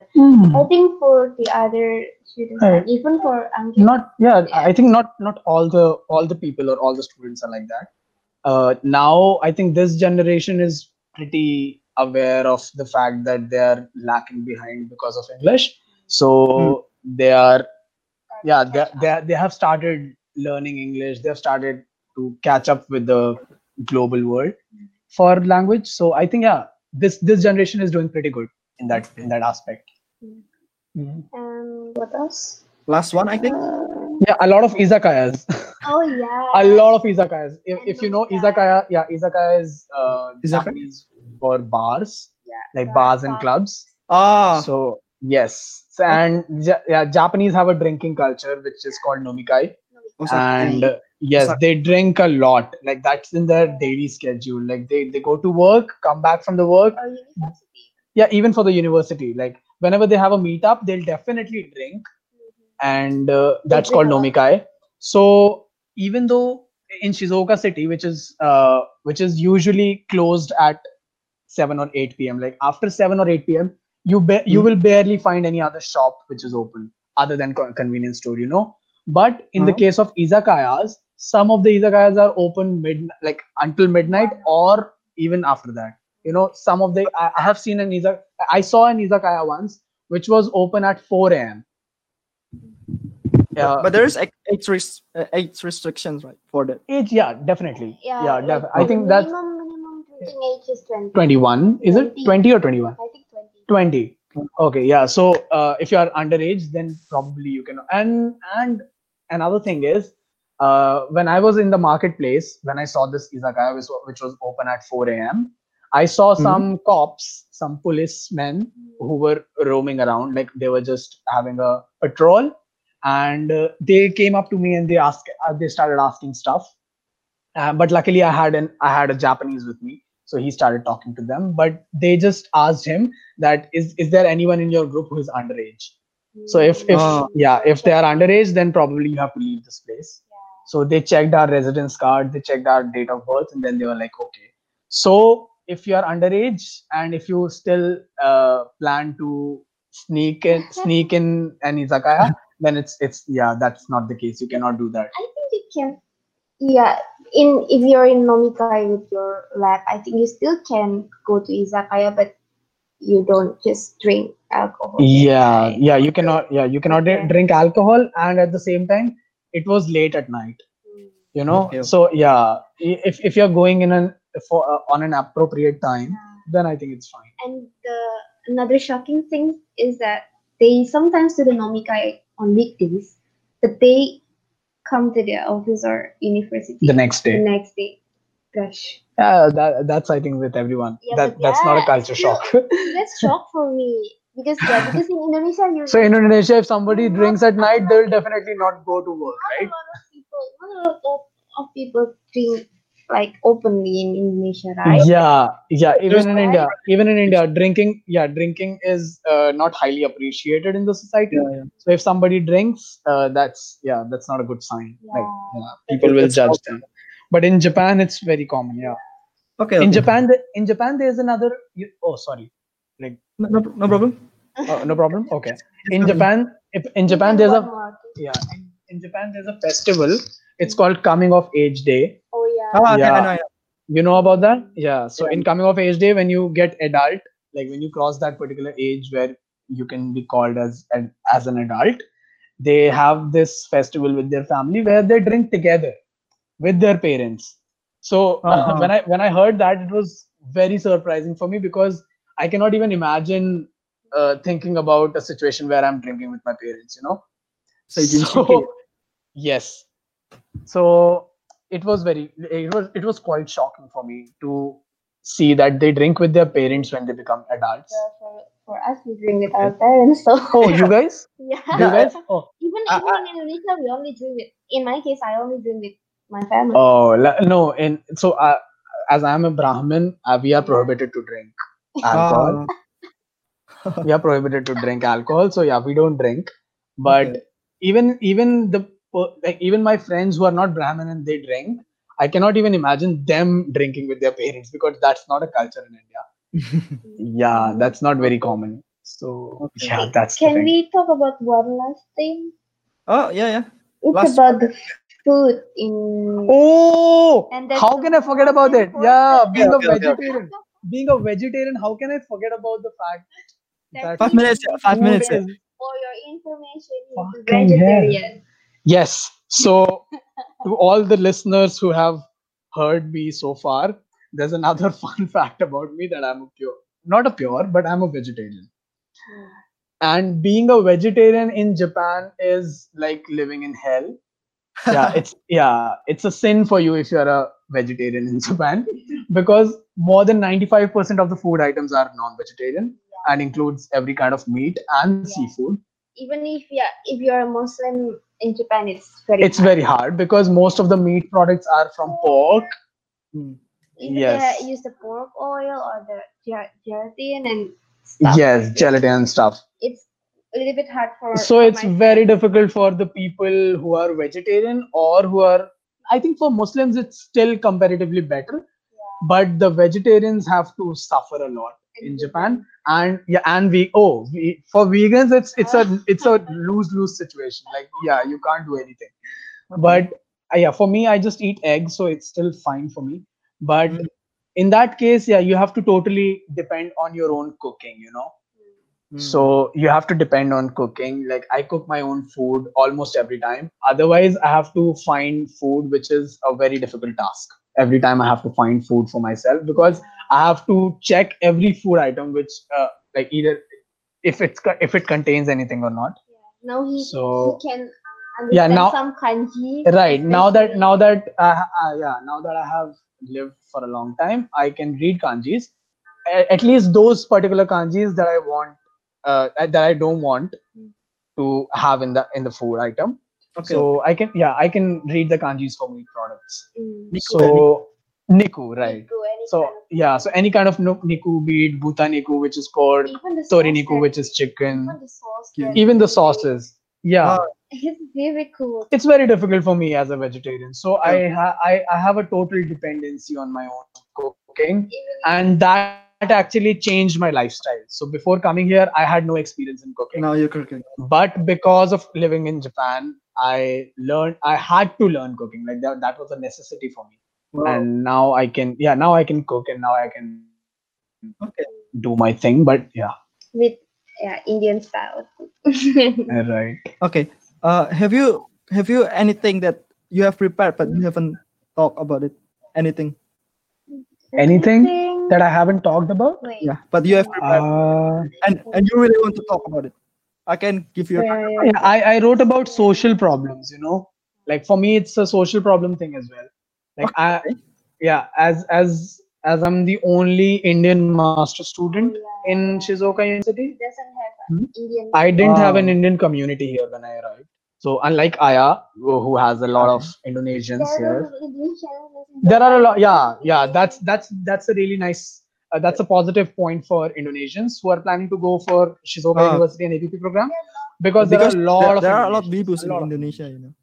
Speaker 2: Hmm.
Speaker 5: I think for the other students,
Speaker 2: Right.
Speaker 5: and even for Ankit,
Speaker 2: Not yeah.
Speaker 5: yeah.
Speaker 2: I think not not all the all the people or all the students are like that. Uh, now I think this generation is pretty aware of the fact that they are lacking behind because of English.
Speaker 1: Hmm.
Speaker 2: So they are yeah they they they have started learning English. They have started to catch up with the global world for language. So I think yeah, this this generation is doing pretty good in that in that aspect. Mhm.
Speaker 5: Um, what else?
Speaker 1: Last one, I think.
Speaker 5: Uh,
Speaker 2: Yeah, a lot of izakayas.
Speaker 5: oh yeah.
Speaker 2: A lot of izakayas. If,
Speaker 5: And
Speaker 2: if you know
Speaker 5: nomikai.
Speaker 2: izakaya, yeah, izakaya is uh,
Speaker 1: Izakaya?
Speaker 2: Japanese for bars,
Speaker 5: Yeah.
Speaker 2: like
Speaker 5: bars,
Speaker 2: bars and
Speaker 5: pubs.
Speaker 2: clubs.
Speaker 1: Ah,
Speaker 2: So yes, so, and ja- yeah, Japanese have a drinking culture which is called nomikai,
Speaker 1: Osaka.
Speaker 2: and uh, yes,
Speaker 1: Osaka.
Speaker 2: they drink a lot. Like that's in their daily schedule. Like they they go to work, come back from the work.
Speaker 5: Or university.
Speaker 2: Yeah, even for the university, like whenever they have a meetup, they'll definitely drink, and uh, that's
Speaker 5: drink
Speaker 2: called
Speaker 5: a lot.
Speaker 2: nomikai. So even though in Shizuoka city, which is uh, which is usually closed at seven or eight p m, like after seven or eight p m, you ba- you
Speaker 1: Hmm.
Speaker 2: will barely find any other shop which is open other than co- convenience store, you know. But in the
Speaker 1: Uh-huh.
Speaker 2: case of izakayas, some of the izakayas are open mid like until midnight or even after that. You know, some of the I, I have seen an izak I saw an izakaya once which was open at four a m. Yeah,
Speaker 1: But there is age age, res- uh, age restrictions, right, for that.
Speaker 2: age, yeah, definitely.
Speaker 5: Yeah,
Speaker 2: Yeah,
Speaker 5: like
Speaker 2: def-
Speaker 5: the
Speaker 2: I think that's
Speaker 5: minimum minimum drinking age is twenty.
Speaker 2: twenty-one. Is it
Speaker 5: twenty.
Speaker 2: twenty or twenty-one?
Speaker 5: I think twenty.
Speaker 2: twenty. Okay, yeah. So uh, if you are underage, then probably you can. And and another thing is, uh, when I was in the marketplace, when I saw this izakaya, which, wa- which was open at four a m, I saw
Speaker 1: Mhm.
Speaker 2: some cops, some policemen who were roaming around, like they were just having a patrol, and uh, they came up to me and they asked, uh, they started asking stuff. Uh, but luckily, I had an I had a Japanese with me, so he started talking to them. But they just asked him that is is there anyone in your group who is underage? So if if
Speaker 1: Ah.
Speaker 2: yeah, if they are underage, then probably you have to leave this place. So they checked our residence card, they checked our date of birth, and then they were like, okay. So if you are underage and if you still uh, plan to sneak in sneak in an izakaya, then it's it's yeah, that's not the case. You cannot do that.
Speaker 5: I think you can. Yeah, in if you're in nomikai with your lab, I think you still can go to izakaya, but you don't just drink alcohol.
Speaker 2: Yeah,
Speaker 5: right?
Speaker 2: yeah, you cannot, yeah, you cannot
Speaker 5: Okay.
Speaker 2: drink alcohol, and at the same time, it was late at night, you know.
Speaker 1: Okay.
Speaker 2: So yeah, i- if if you're going in an for uh, on an appropriate time, then I think it's fine.
Speaker 5: And the another shocking thing is that they sometimes do the nomikai on weekdays, but they come to their office or university
Speaker 2: The next
Speaker 5: the
Speaker 2: day,
Speaker 5: next day. Gosh,
Speaker 2: yeah, that that's I think with everyone.
Speaker 5: yeah,
Speaker 2: That
Speaker 5: but
Speaker 2: that's not a
Speaker 5: yeah,
Speaker 2: culture
Speaker 5: still,
Speaker 2: shock.
Speaker 5: that's shock for me because yeah, because in Indonesia you
Speaker 2: So in Indonesia, if somebody
Speaker 5: Not-
Speaker 2: drinks at night, they will definitely not go to work,
Speaker 5: not a
Speaker 2: right?
Speaker 5: lot of people, not a lot of, of people drink like openly in Indonesia, right?
Speaker 2: Yeah, yeah. Even in
Speaker 5: Right.
Speaker 2: India, even in India, drinking, yeah, drinking is uh, not highly appreciated in the society.
Speaker 1: Yeah, yeah.
Speaker 2: So if somebody drinks, uh, that's yeah, that's not a good sign. Like
Speaker 5: Yeah.
Speaker 2: yeah, people will
Speaker 1: It's
Speaker 2: judge
Speaker 1: also-
Speaker 2: them. But in Japan, it's very common. Yeah.
Speaker 1: Okay.
Speaker 2: In
Speaker 1: okay.
Speaker 2: Japan, the, in Japan, there's another. You, oh, sorry. Like
Speaker 1: No, no, no problem.
Speaker 2: uh, no problem. Okay. In
Speaker 1: Discuss.
Speaker 2: Japan, if in Japan there's a yeah in, in Japan there's a festival. It's called Coming of Age Day.
Speaker 5: Oh yeah.
Speaker 1: Ah, okay, I
Speaker 2: Yeah.
Speaker 1: know, I know.
Speaker 2: You know about that? Yeah. So
Speaker 1: Yeah.
Speaker 2: in coming of age day, when you get adult, like when you cross that particular age where you can be called as an as an adult, they have this festival with their family where they drink together with their parents. So
Speaker 1: Uh-huh.
Speaker 2: when I when I heard that, it was very surprising for me because I cannot even imagine uh, thinking about a situation where I'm drinking with my parents. You know.
Speaker 1: Seijin
Speaker 2: So
Speaker 1: Shiki.
Speaker 2: yes. So it was very it was it was quite shocking for me to see that they drink with their parents when they become adults.
Speaker 5: Yeah, for, for us, we drink with our parents. So
Speaker 2: Oh, you guys?
Speaker 5: yeah.
Speaker 2: Do you guys? Oh,
Speaker 5: Even
Speaker 1: I-
Speaker 5: even in Indonesia, we only drink with. In my case, I only drink with my family.
Speaker 2: oh la- no. In so uh, as I'm a Brahmin, uh, we are prohibited to drink alcohol.
Speaker 1: Ah,
Speaker 2: We are prohibited to drink alcohol. So yeah, we don't drink. But
Speaker 1: Okay.
Speaker 2: even even the per- like even my friends who are not Brahmin and they drink, I cannot even imagine them drinking with their parents because that's not a culture in India. Yeah, that's not very common. So
Speaker 1: Okay.
Speaker 2: yeah, that's the
Speaker 5: Can
Speaker 2: thing.
Speaker 5: we talk about one last thing?
Speaker 1: Oh yeah, yeah.
Speaker 5: It's
Speaker 1: Last
Speaker 5: about the food in.
Speaker 2: Oh,
Speaker 5: And that's
Speaker 2: how
Speaker 5: the
Speaker 2: can I forget
Speaker 5: most
Speaker 2: about it? Yeah,
Speaker 5: important.
Speaker 1: Okay,
Speaker 2: being a
Speaker 1: okay, okay, okay.
Speaker 2: vegetarian, being a vegetarian, how can I forget about the fact
Speaker 5: That
Speaker 2: that
Speaker 1: Five
Speaker 5: he
Speaker 1: minutes. Yeah,
Speaker 5: is
Speaker 1: five
Speaker 2: food
Speaker 1: minutes. Yeah.
Speaker 2: is
Speaker 5: For your information, he's a
Speaker 2: fucking hell?
Speaker 5: vegetarian.
Speaker 2: Yes. So to all the listeners who have heard me so far, there's another fun fact about me that I'm a pure, not a pure, but I'm a vegetarian. And being a vegetarian in Japan is like living in hell. Yeah, it's yeah, it's a sin for you if you're a vegetarian in Japan because more than ninety-five percent of the food items are non-vegetarian and includes every kind of meat and seafood.
Speaker 5: Even if yeah, if you're a Muslim in Japan, it's very
Speaker 2: It's
Speaker 5: hard.
Speaker 2: very hard because most of the meat products are from pork.
Speaker 1: Hmm.
Speaker 5: Even
Speaker 2: Yes.
Speaker 5: they use the pork oil or the ge- gelatin and stuff.
Speaker 2: Yes,
Speaker 5: like that.
Speaker 2: gelatin and stuff.
Speaker 5: It's a little bit hard for.
Speaker 2: So
Speaker 5: for
Speaker 2: it's
Speaker 5: my
Speaker 2: very
Speaker 5: friends.
Speaker 2: difficult for the people who are vegetarian or who are, I think for Muslims it's still comparatively better, but the vegetarians have to suffer a lot in Japan. And yeah, and we oh we, for vegans it's it's a it's a lose lose situation. Like yeah, you can't do anything. But uh, yeah, for me I just eat eggs, so it's still fine for me. But
Speaker 1: Mm,
Speaker 2: in that case, yeah, you have to totally depend on your own cooking, you know.
Speaker 1: mm.
Speaker 2: So you have to depend on cooking. Like I cook my own food almost every time. Otherwise, I have to find food, which is a very difficult task. Every time I have to find food for myself because I have to check every food item, which uh, like either if it's co- if it contains anything or not.
Speaker 5: Now he
Speaker 2: So
Speaker 5: he can
Speaker 2: yeah,
Speaker 5: understand
Speaker 2: now
Speaker 5: some kanji.
Speaker 2: right now that
Speaker 5: especially.
Speaker 2: now that uh, uh, yeah now that I have lived for a long time, I can read kanjis. A- At least those particular kanjis that I want, uh, that I don't want to have in the in the food item.
Speaker 1: Okay.
Speaker 2: So I can yeah I can read the kanjis for meat products.
Speaker 5: Mm.
Speaker 1: Niku, yeah, Niku.
Speaker 2: So Niku, right?
Speaker 5: Niku, any
Speaker 2: So
Speaker 5: kind of-
Speaker 2: yeah, so any kind of no- Niku, be it Buta Niku, which is pork,
Speaker 5: even the
Speaker 2: Tori
Speaker 5: sauce
Speaker 2: Niku,
Speaker 5: that-
Speaker 2: which is chicken,
Speaker 5: even the sauce
Speaker 1: Yeah.
Speaker 5: that
Speaker 2: even the
Speaker 5: is
Speaker 2: sauces. Yeah,
Speaker 1: Ah,
Speaker 5: very- It's very cool.
Speaker 2: it's very difficult for me as a vegetarian. So
Speaker 1: Yeah.
Speaker 2: I, ha- I I have a total dependency on my own cooking,
Speaker 5: Even
Speaker 2: and that actually changed my lifestyle. So before coming here, I had no experience in cooking.
Speaker 1: now you're cooking.
Speaker 2: But because of living in Japan, I learned I had to learn cooking. Like that, that was a necessity for me.
Speaker 1: Wow.
Speaker 2: And now I can, yeah, now I can cook and now I can
Speaker 1: Okay.
Speaker 2: do my thing. But yeah,
Speaker 5: with yeah Indian style.
Speaker 2: right.
Speaker 1: Okay. Uh, have you have you anything that you have prepared but you haven't talked about it? Anything?
Speaker 2: Anything that I haven't talked about?
Speaker 5: Wait.
Speaker 1: Yeah, but you have prepared
Speaker 2: Uh,
Speaker 1: and and you really want to talk about it. I can give you. A,
Speaker 5: Yeah, yeah.
Speaker 2: yeah, I, I wrote about social problems, you know, like for me, it's a social problem thing as well. Like I,
Speaker 1: Okay.
Speaker 2: yeah, as, as, as I'm the only Indian master student in Shizuoka University,
Speaker 5: It doesn't have
Speaker 1: Hmm?
Speaker 5: Indian.
Speaker 2: I didn't have an
Speaker 1: Wow.
Speaker 2: Indian community here when I arrived. So unlike Aya, who who has a lot of Indonesians
Speaker 5: There
Speaker 2: here,
Speaker 5: are Indonesian.
Speaker 2: there are a lot. Yeah, yeah. That's that's that's a really nice. Uh, that's a positive point for Indonesians who are planning to go for Shizuoka
Speaker 1: Ah.
Speaker 2: University and A P P program because, there
Speaker 1: Because
Speaker 2: are a lot
Speaker 1: there,
Speaker 2: of
Speaker 1: there are a lot of
Speaker 2: Indonesians,
Speaker 1: bibus
Speaker 2: a
Speaker 1: in
Speaker 2: lot of
Speaker 1: Indonesia, you know.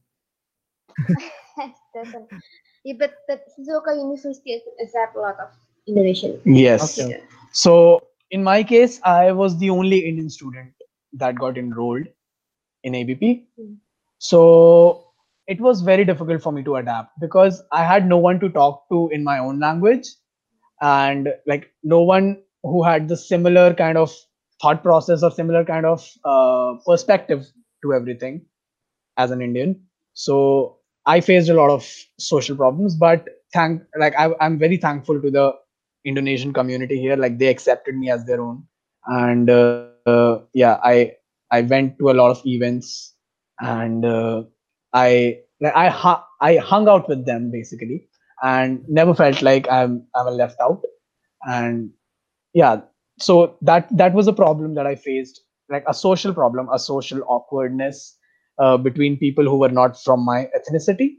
Speaker 5: doesn't. Yeah, but but Shizuoka University accept a lot of Indonesian.
Speaker 2: Yes.
Speaker 1: Okay.
Speaker 2: So in my case, I was the only Indian student that got enrolled in A B P.
Speaker 5: Mm.
Speaker 2: So it was very difficult for me to adapt because I had no one to talk to in my own language and like no one who had the similar kind of thought process or similar kind of uh, perspective to everything as an Indian. So I faced a lot of social problems, but thank like I, I'm very thankful to the Indonesian community here. Like they accepted me as their own, and uh, yeah, I I went to a lot of events, and uh, I like I hu- I hung out with them basically, and never felt like I'm I'm left out. And yeah, so that that was a problem that I faced, like a social problem, a social awkwardness uh, between people who were not from my ethnicity.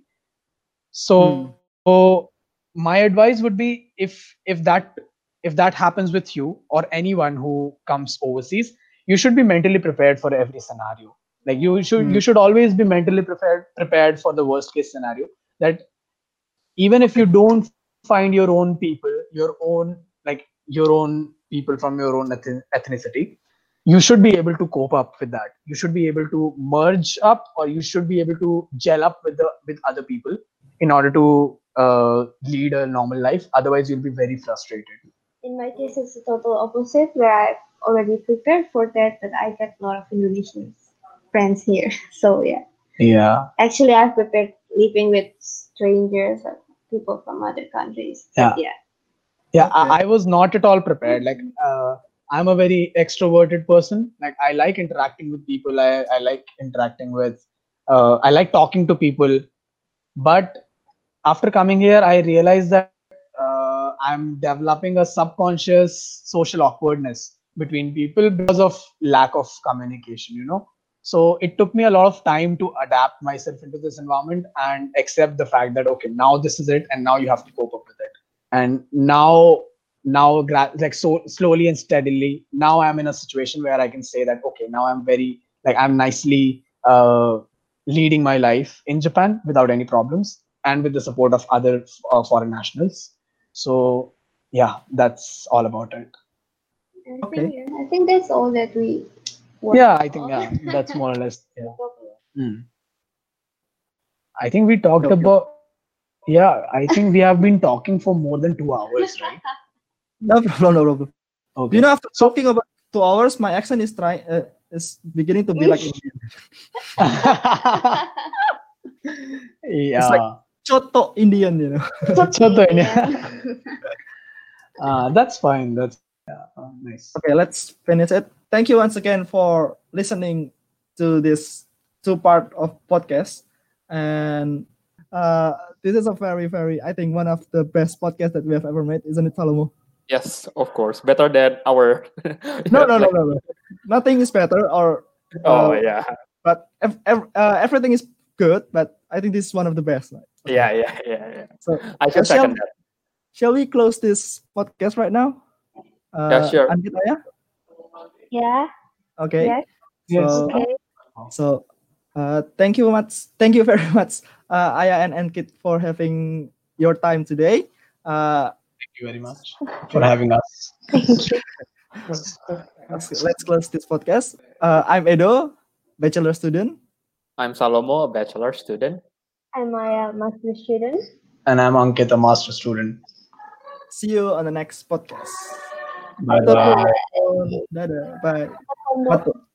Speaker 2: So my advice would be if if that if that happens with you or anyone who comes overseas, you should be mentally prepared for every scenario. Like you should
Speaker 1: Hmm.
Speaker 2: you should always be mentally prepared prepared for the worst case scenario, that even if you don't find your own people, your own like your own people from your own eth- ethnicity, you should be able to cope up with that. You should be able to merge up, or you should be able to gel up with the with other people in order to uh, lead a normal life. Otherwise, you'll be very frustrated.
Speaker 5: In my case, it's the total opposite, where I've already prepared for that, but I got a lot of Indonesian friends here. So yeah,
Speaker 2: Yeah.
Speaker 5: actually, I've prepared living with strangers or people from other countries.
Speaker 2: Yeah.
Speaker 5: But yeah.
Speaker 2: Yeah,
Speaker 1: Okay.
Speaker 2: I, I was not at all prepared. Like, uh, I'm a very extroverted person. Like, I like interacting with people. I, I like interacting with, uh, I like talking to people. But after coming here, I realized that uh, I'm developing a subconscious social awkwardness between people because of lack of communication, you know. So it took me a lot of time to adapt myself into this environment and accept the fact that, okay, now this is it, and now you have to cope up with it. And now, now, gra- like so slowly and steadily, now I'm in a situation where I can say that, okay, now I'm very, like, I'm nicely uh, leading my life in Japan without any problems and with the support of other uh, foreign nationals. So yeah, that's all about it.
Speaker 5: I
Speaker 1: Okay.
Speaker 5: think yeah, I think that's all that we.
Speaker 2: Yeah, I think yeah, that's more or less. Yeah. Hmm. I think we talked
Speaker 1: Okay.
Speaker 2: about. Yeah, I think we have been talking for more than two hours, right?
Speaker 1: No problem. No problem. Do
Speaker 2: Okay.
Speaker 1: you know, after
Speaker 2: So
Speaker 1: talking about two hours, my accent is trying uh, is beginning to be like Indian. It's like
Speaker 2: yeah,
Speaker 1: Choto Indian, you know.
Speaker 2: Choto ini.
Speaker 5: Yeah.
Speaker 2: uh, that's fine. That's yeah, uh, nice.
Speaker 1: Okay, let's finish it. Thank you once again for listening to this two part of podcast. And uh, this is a very, very, I think, one of the best podcasts that we have ever made, isn't it, Salomo?
Speaker 4: Yes, of course. Better than our.
Speaker 1: No, no, no,
Speaker 4: like-
Speaker 1: no, no. Nothing is better, or
Speaker 4: Oh
Speaker 1: uh,
Speaker 4: yeah,
Speaker 1: but ev- ev- uh, everything is good. But I think this is one of the best. Right? Okay.
Speaker 4: yeah, yeah, yeah, yeah.
Speaker 1: So
Speaker 4: I should
Speaker 1: Uh, shall-
Speaker 4: second that.
Speaker 1: shall we close this podcast right now? Uh,
Speaker 4: Yeah, sure.
Speaker 1: Anggit, Ayah?
Speaker 5: Yeah.
Speaker 1: Okay.
Speaker 5: Yes.
Speaker 2: Yes.
Speaker 1: So,
Speaker 5: Okay.
Speaker 1: so uh, thank you much. Thank you very much, uh, Aya and Ankit, for having your time today. Uh,
Speaker 2: Thank you very much for having us.
Speaker 5: Thank you.
Speaker 1: let's, let's close this podcast. Uh, I'm Edo, bachelor student.
Speaker 4: I'm Salomo, a bachelor student.
Speaker 5: I'm a master student.
Speaker 2: And I'm Ankit, a master student.
Speaker 1: See you on the next podcast.
Speaker 2: Bye bye.
Speaker 1: Dadah. Bye.
Speaker 5: Homework.
Speaker 1: Matu.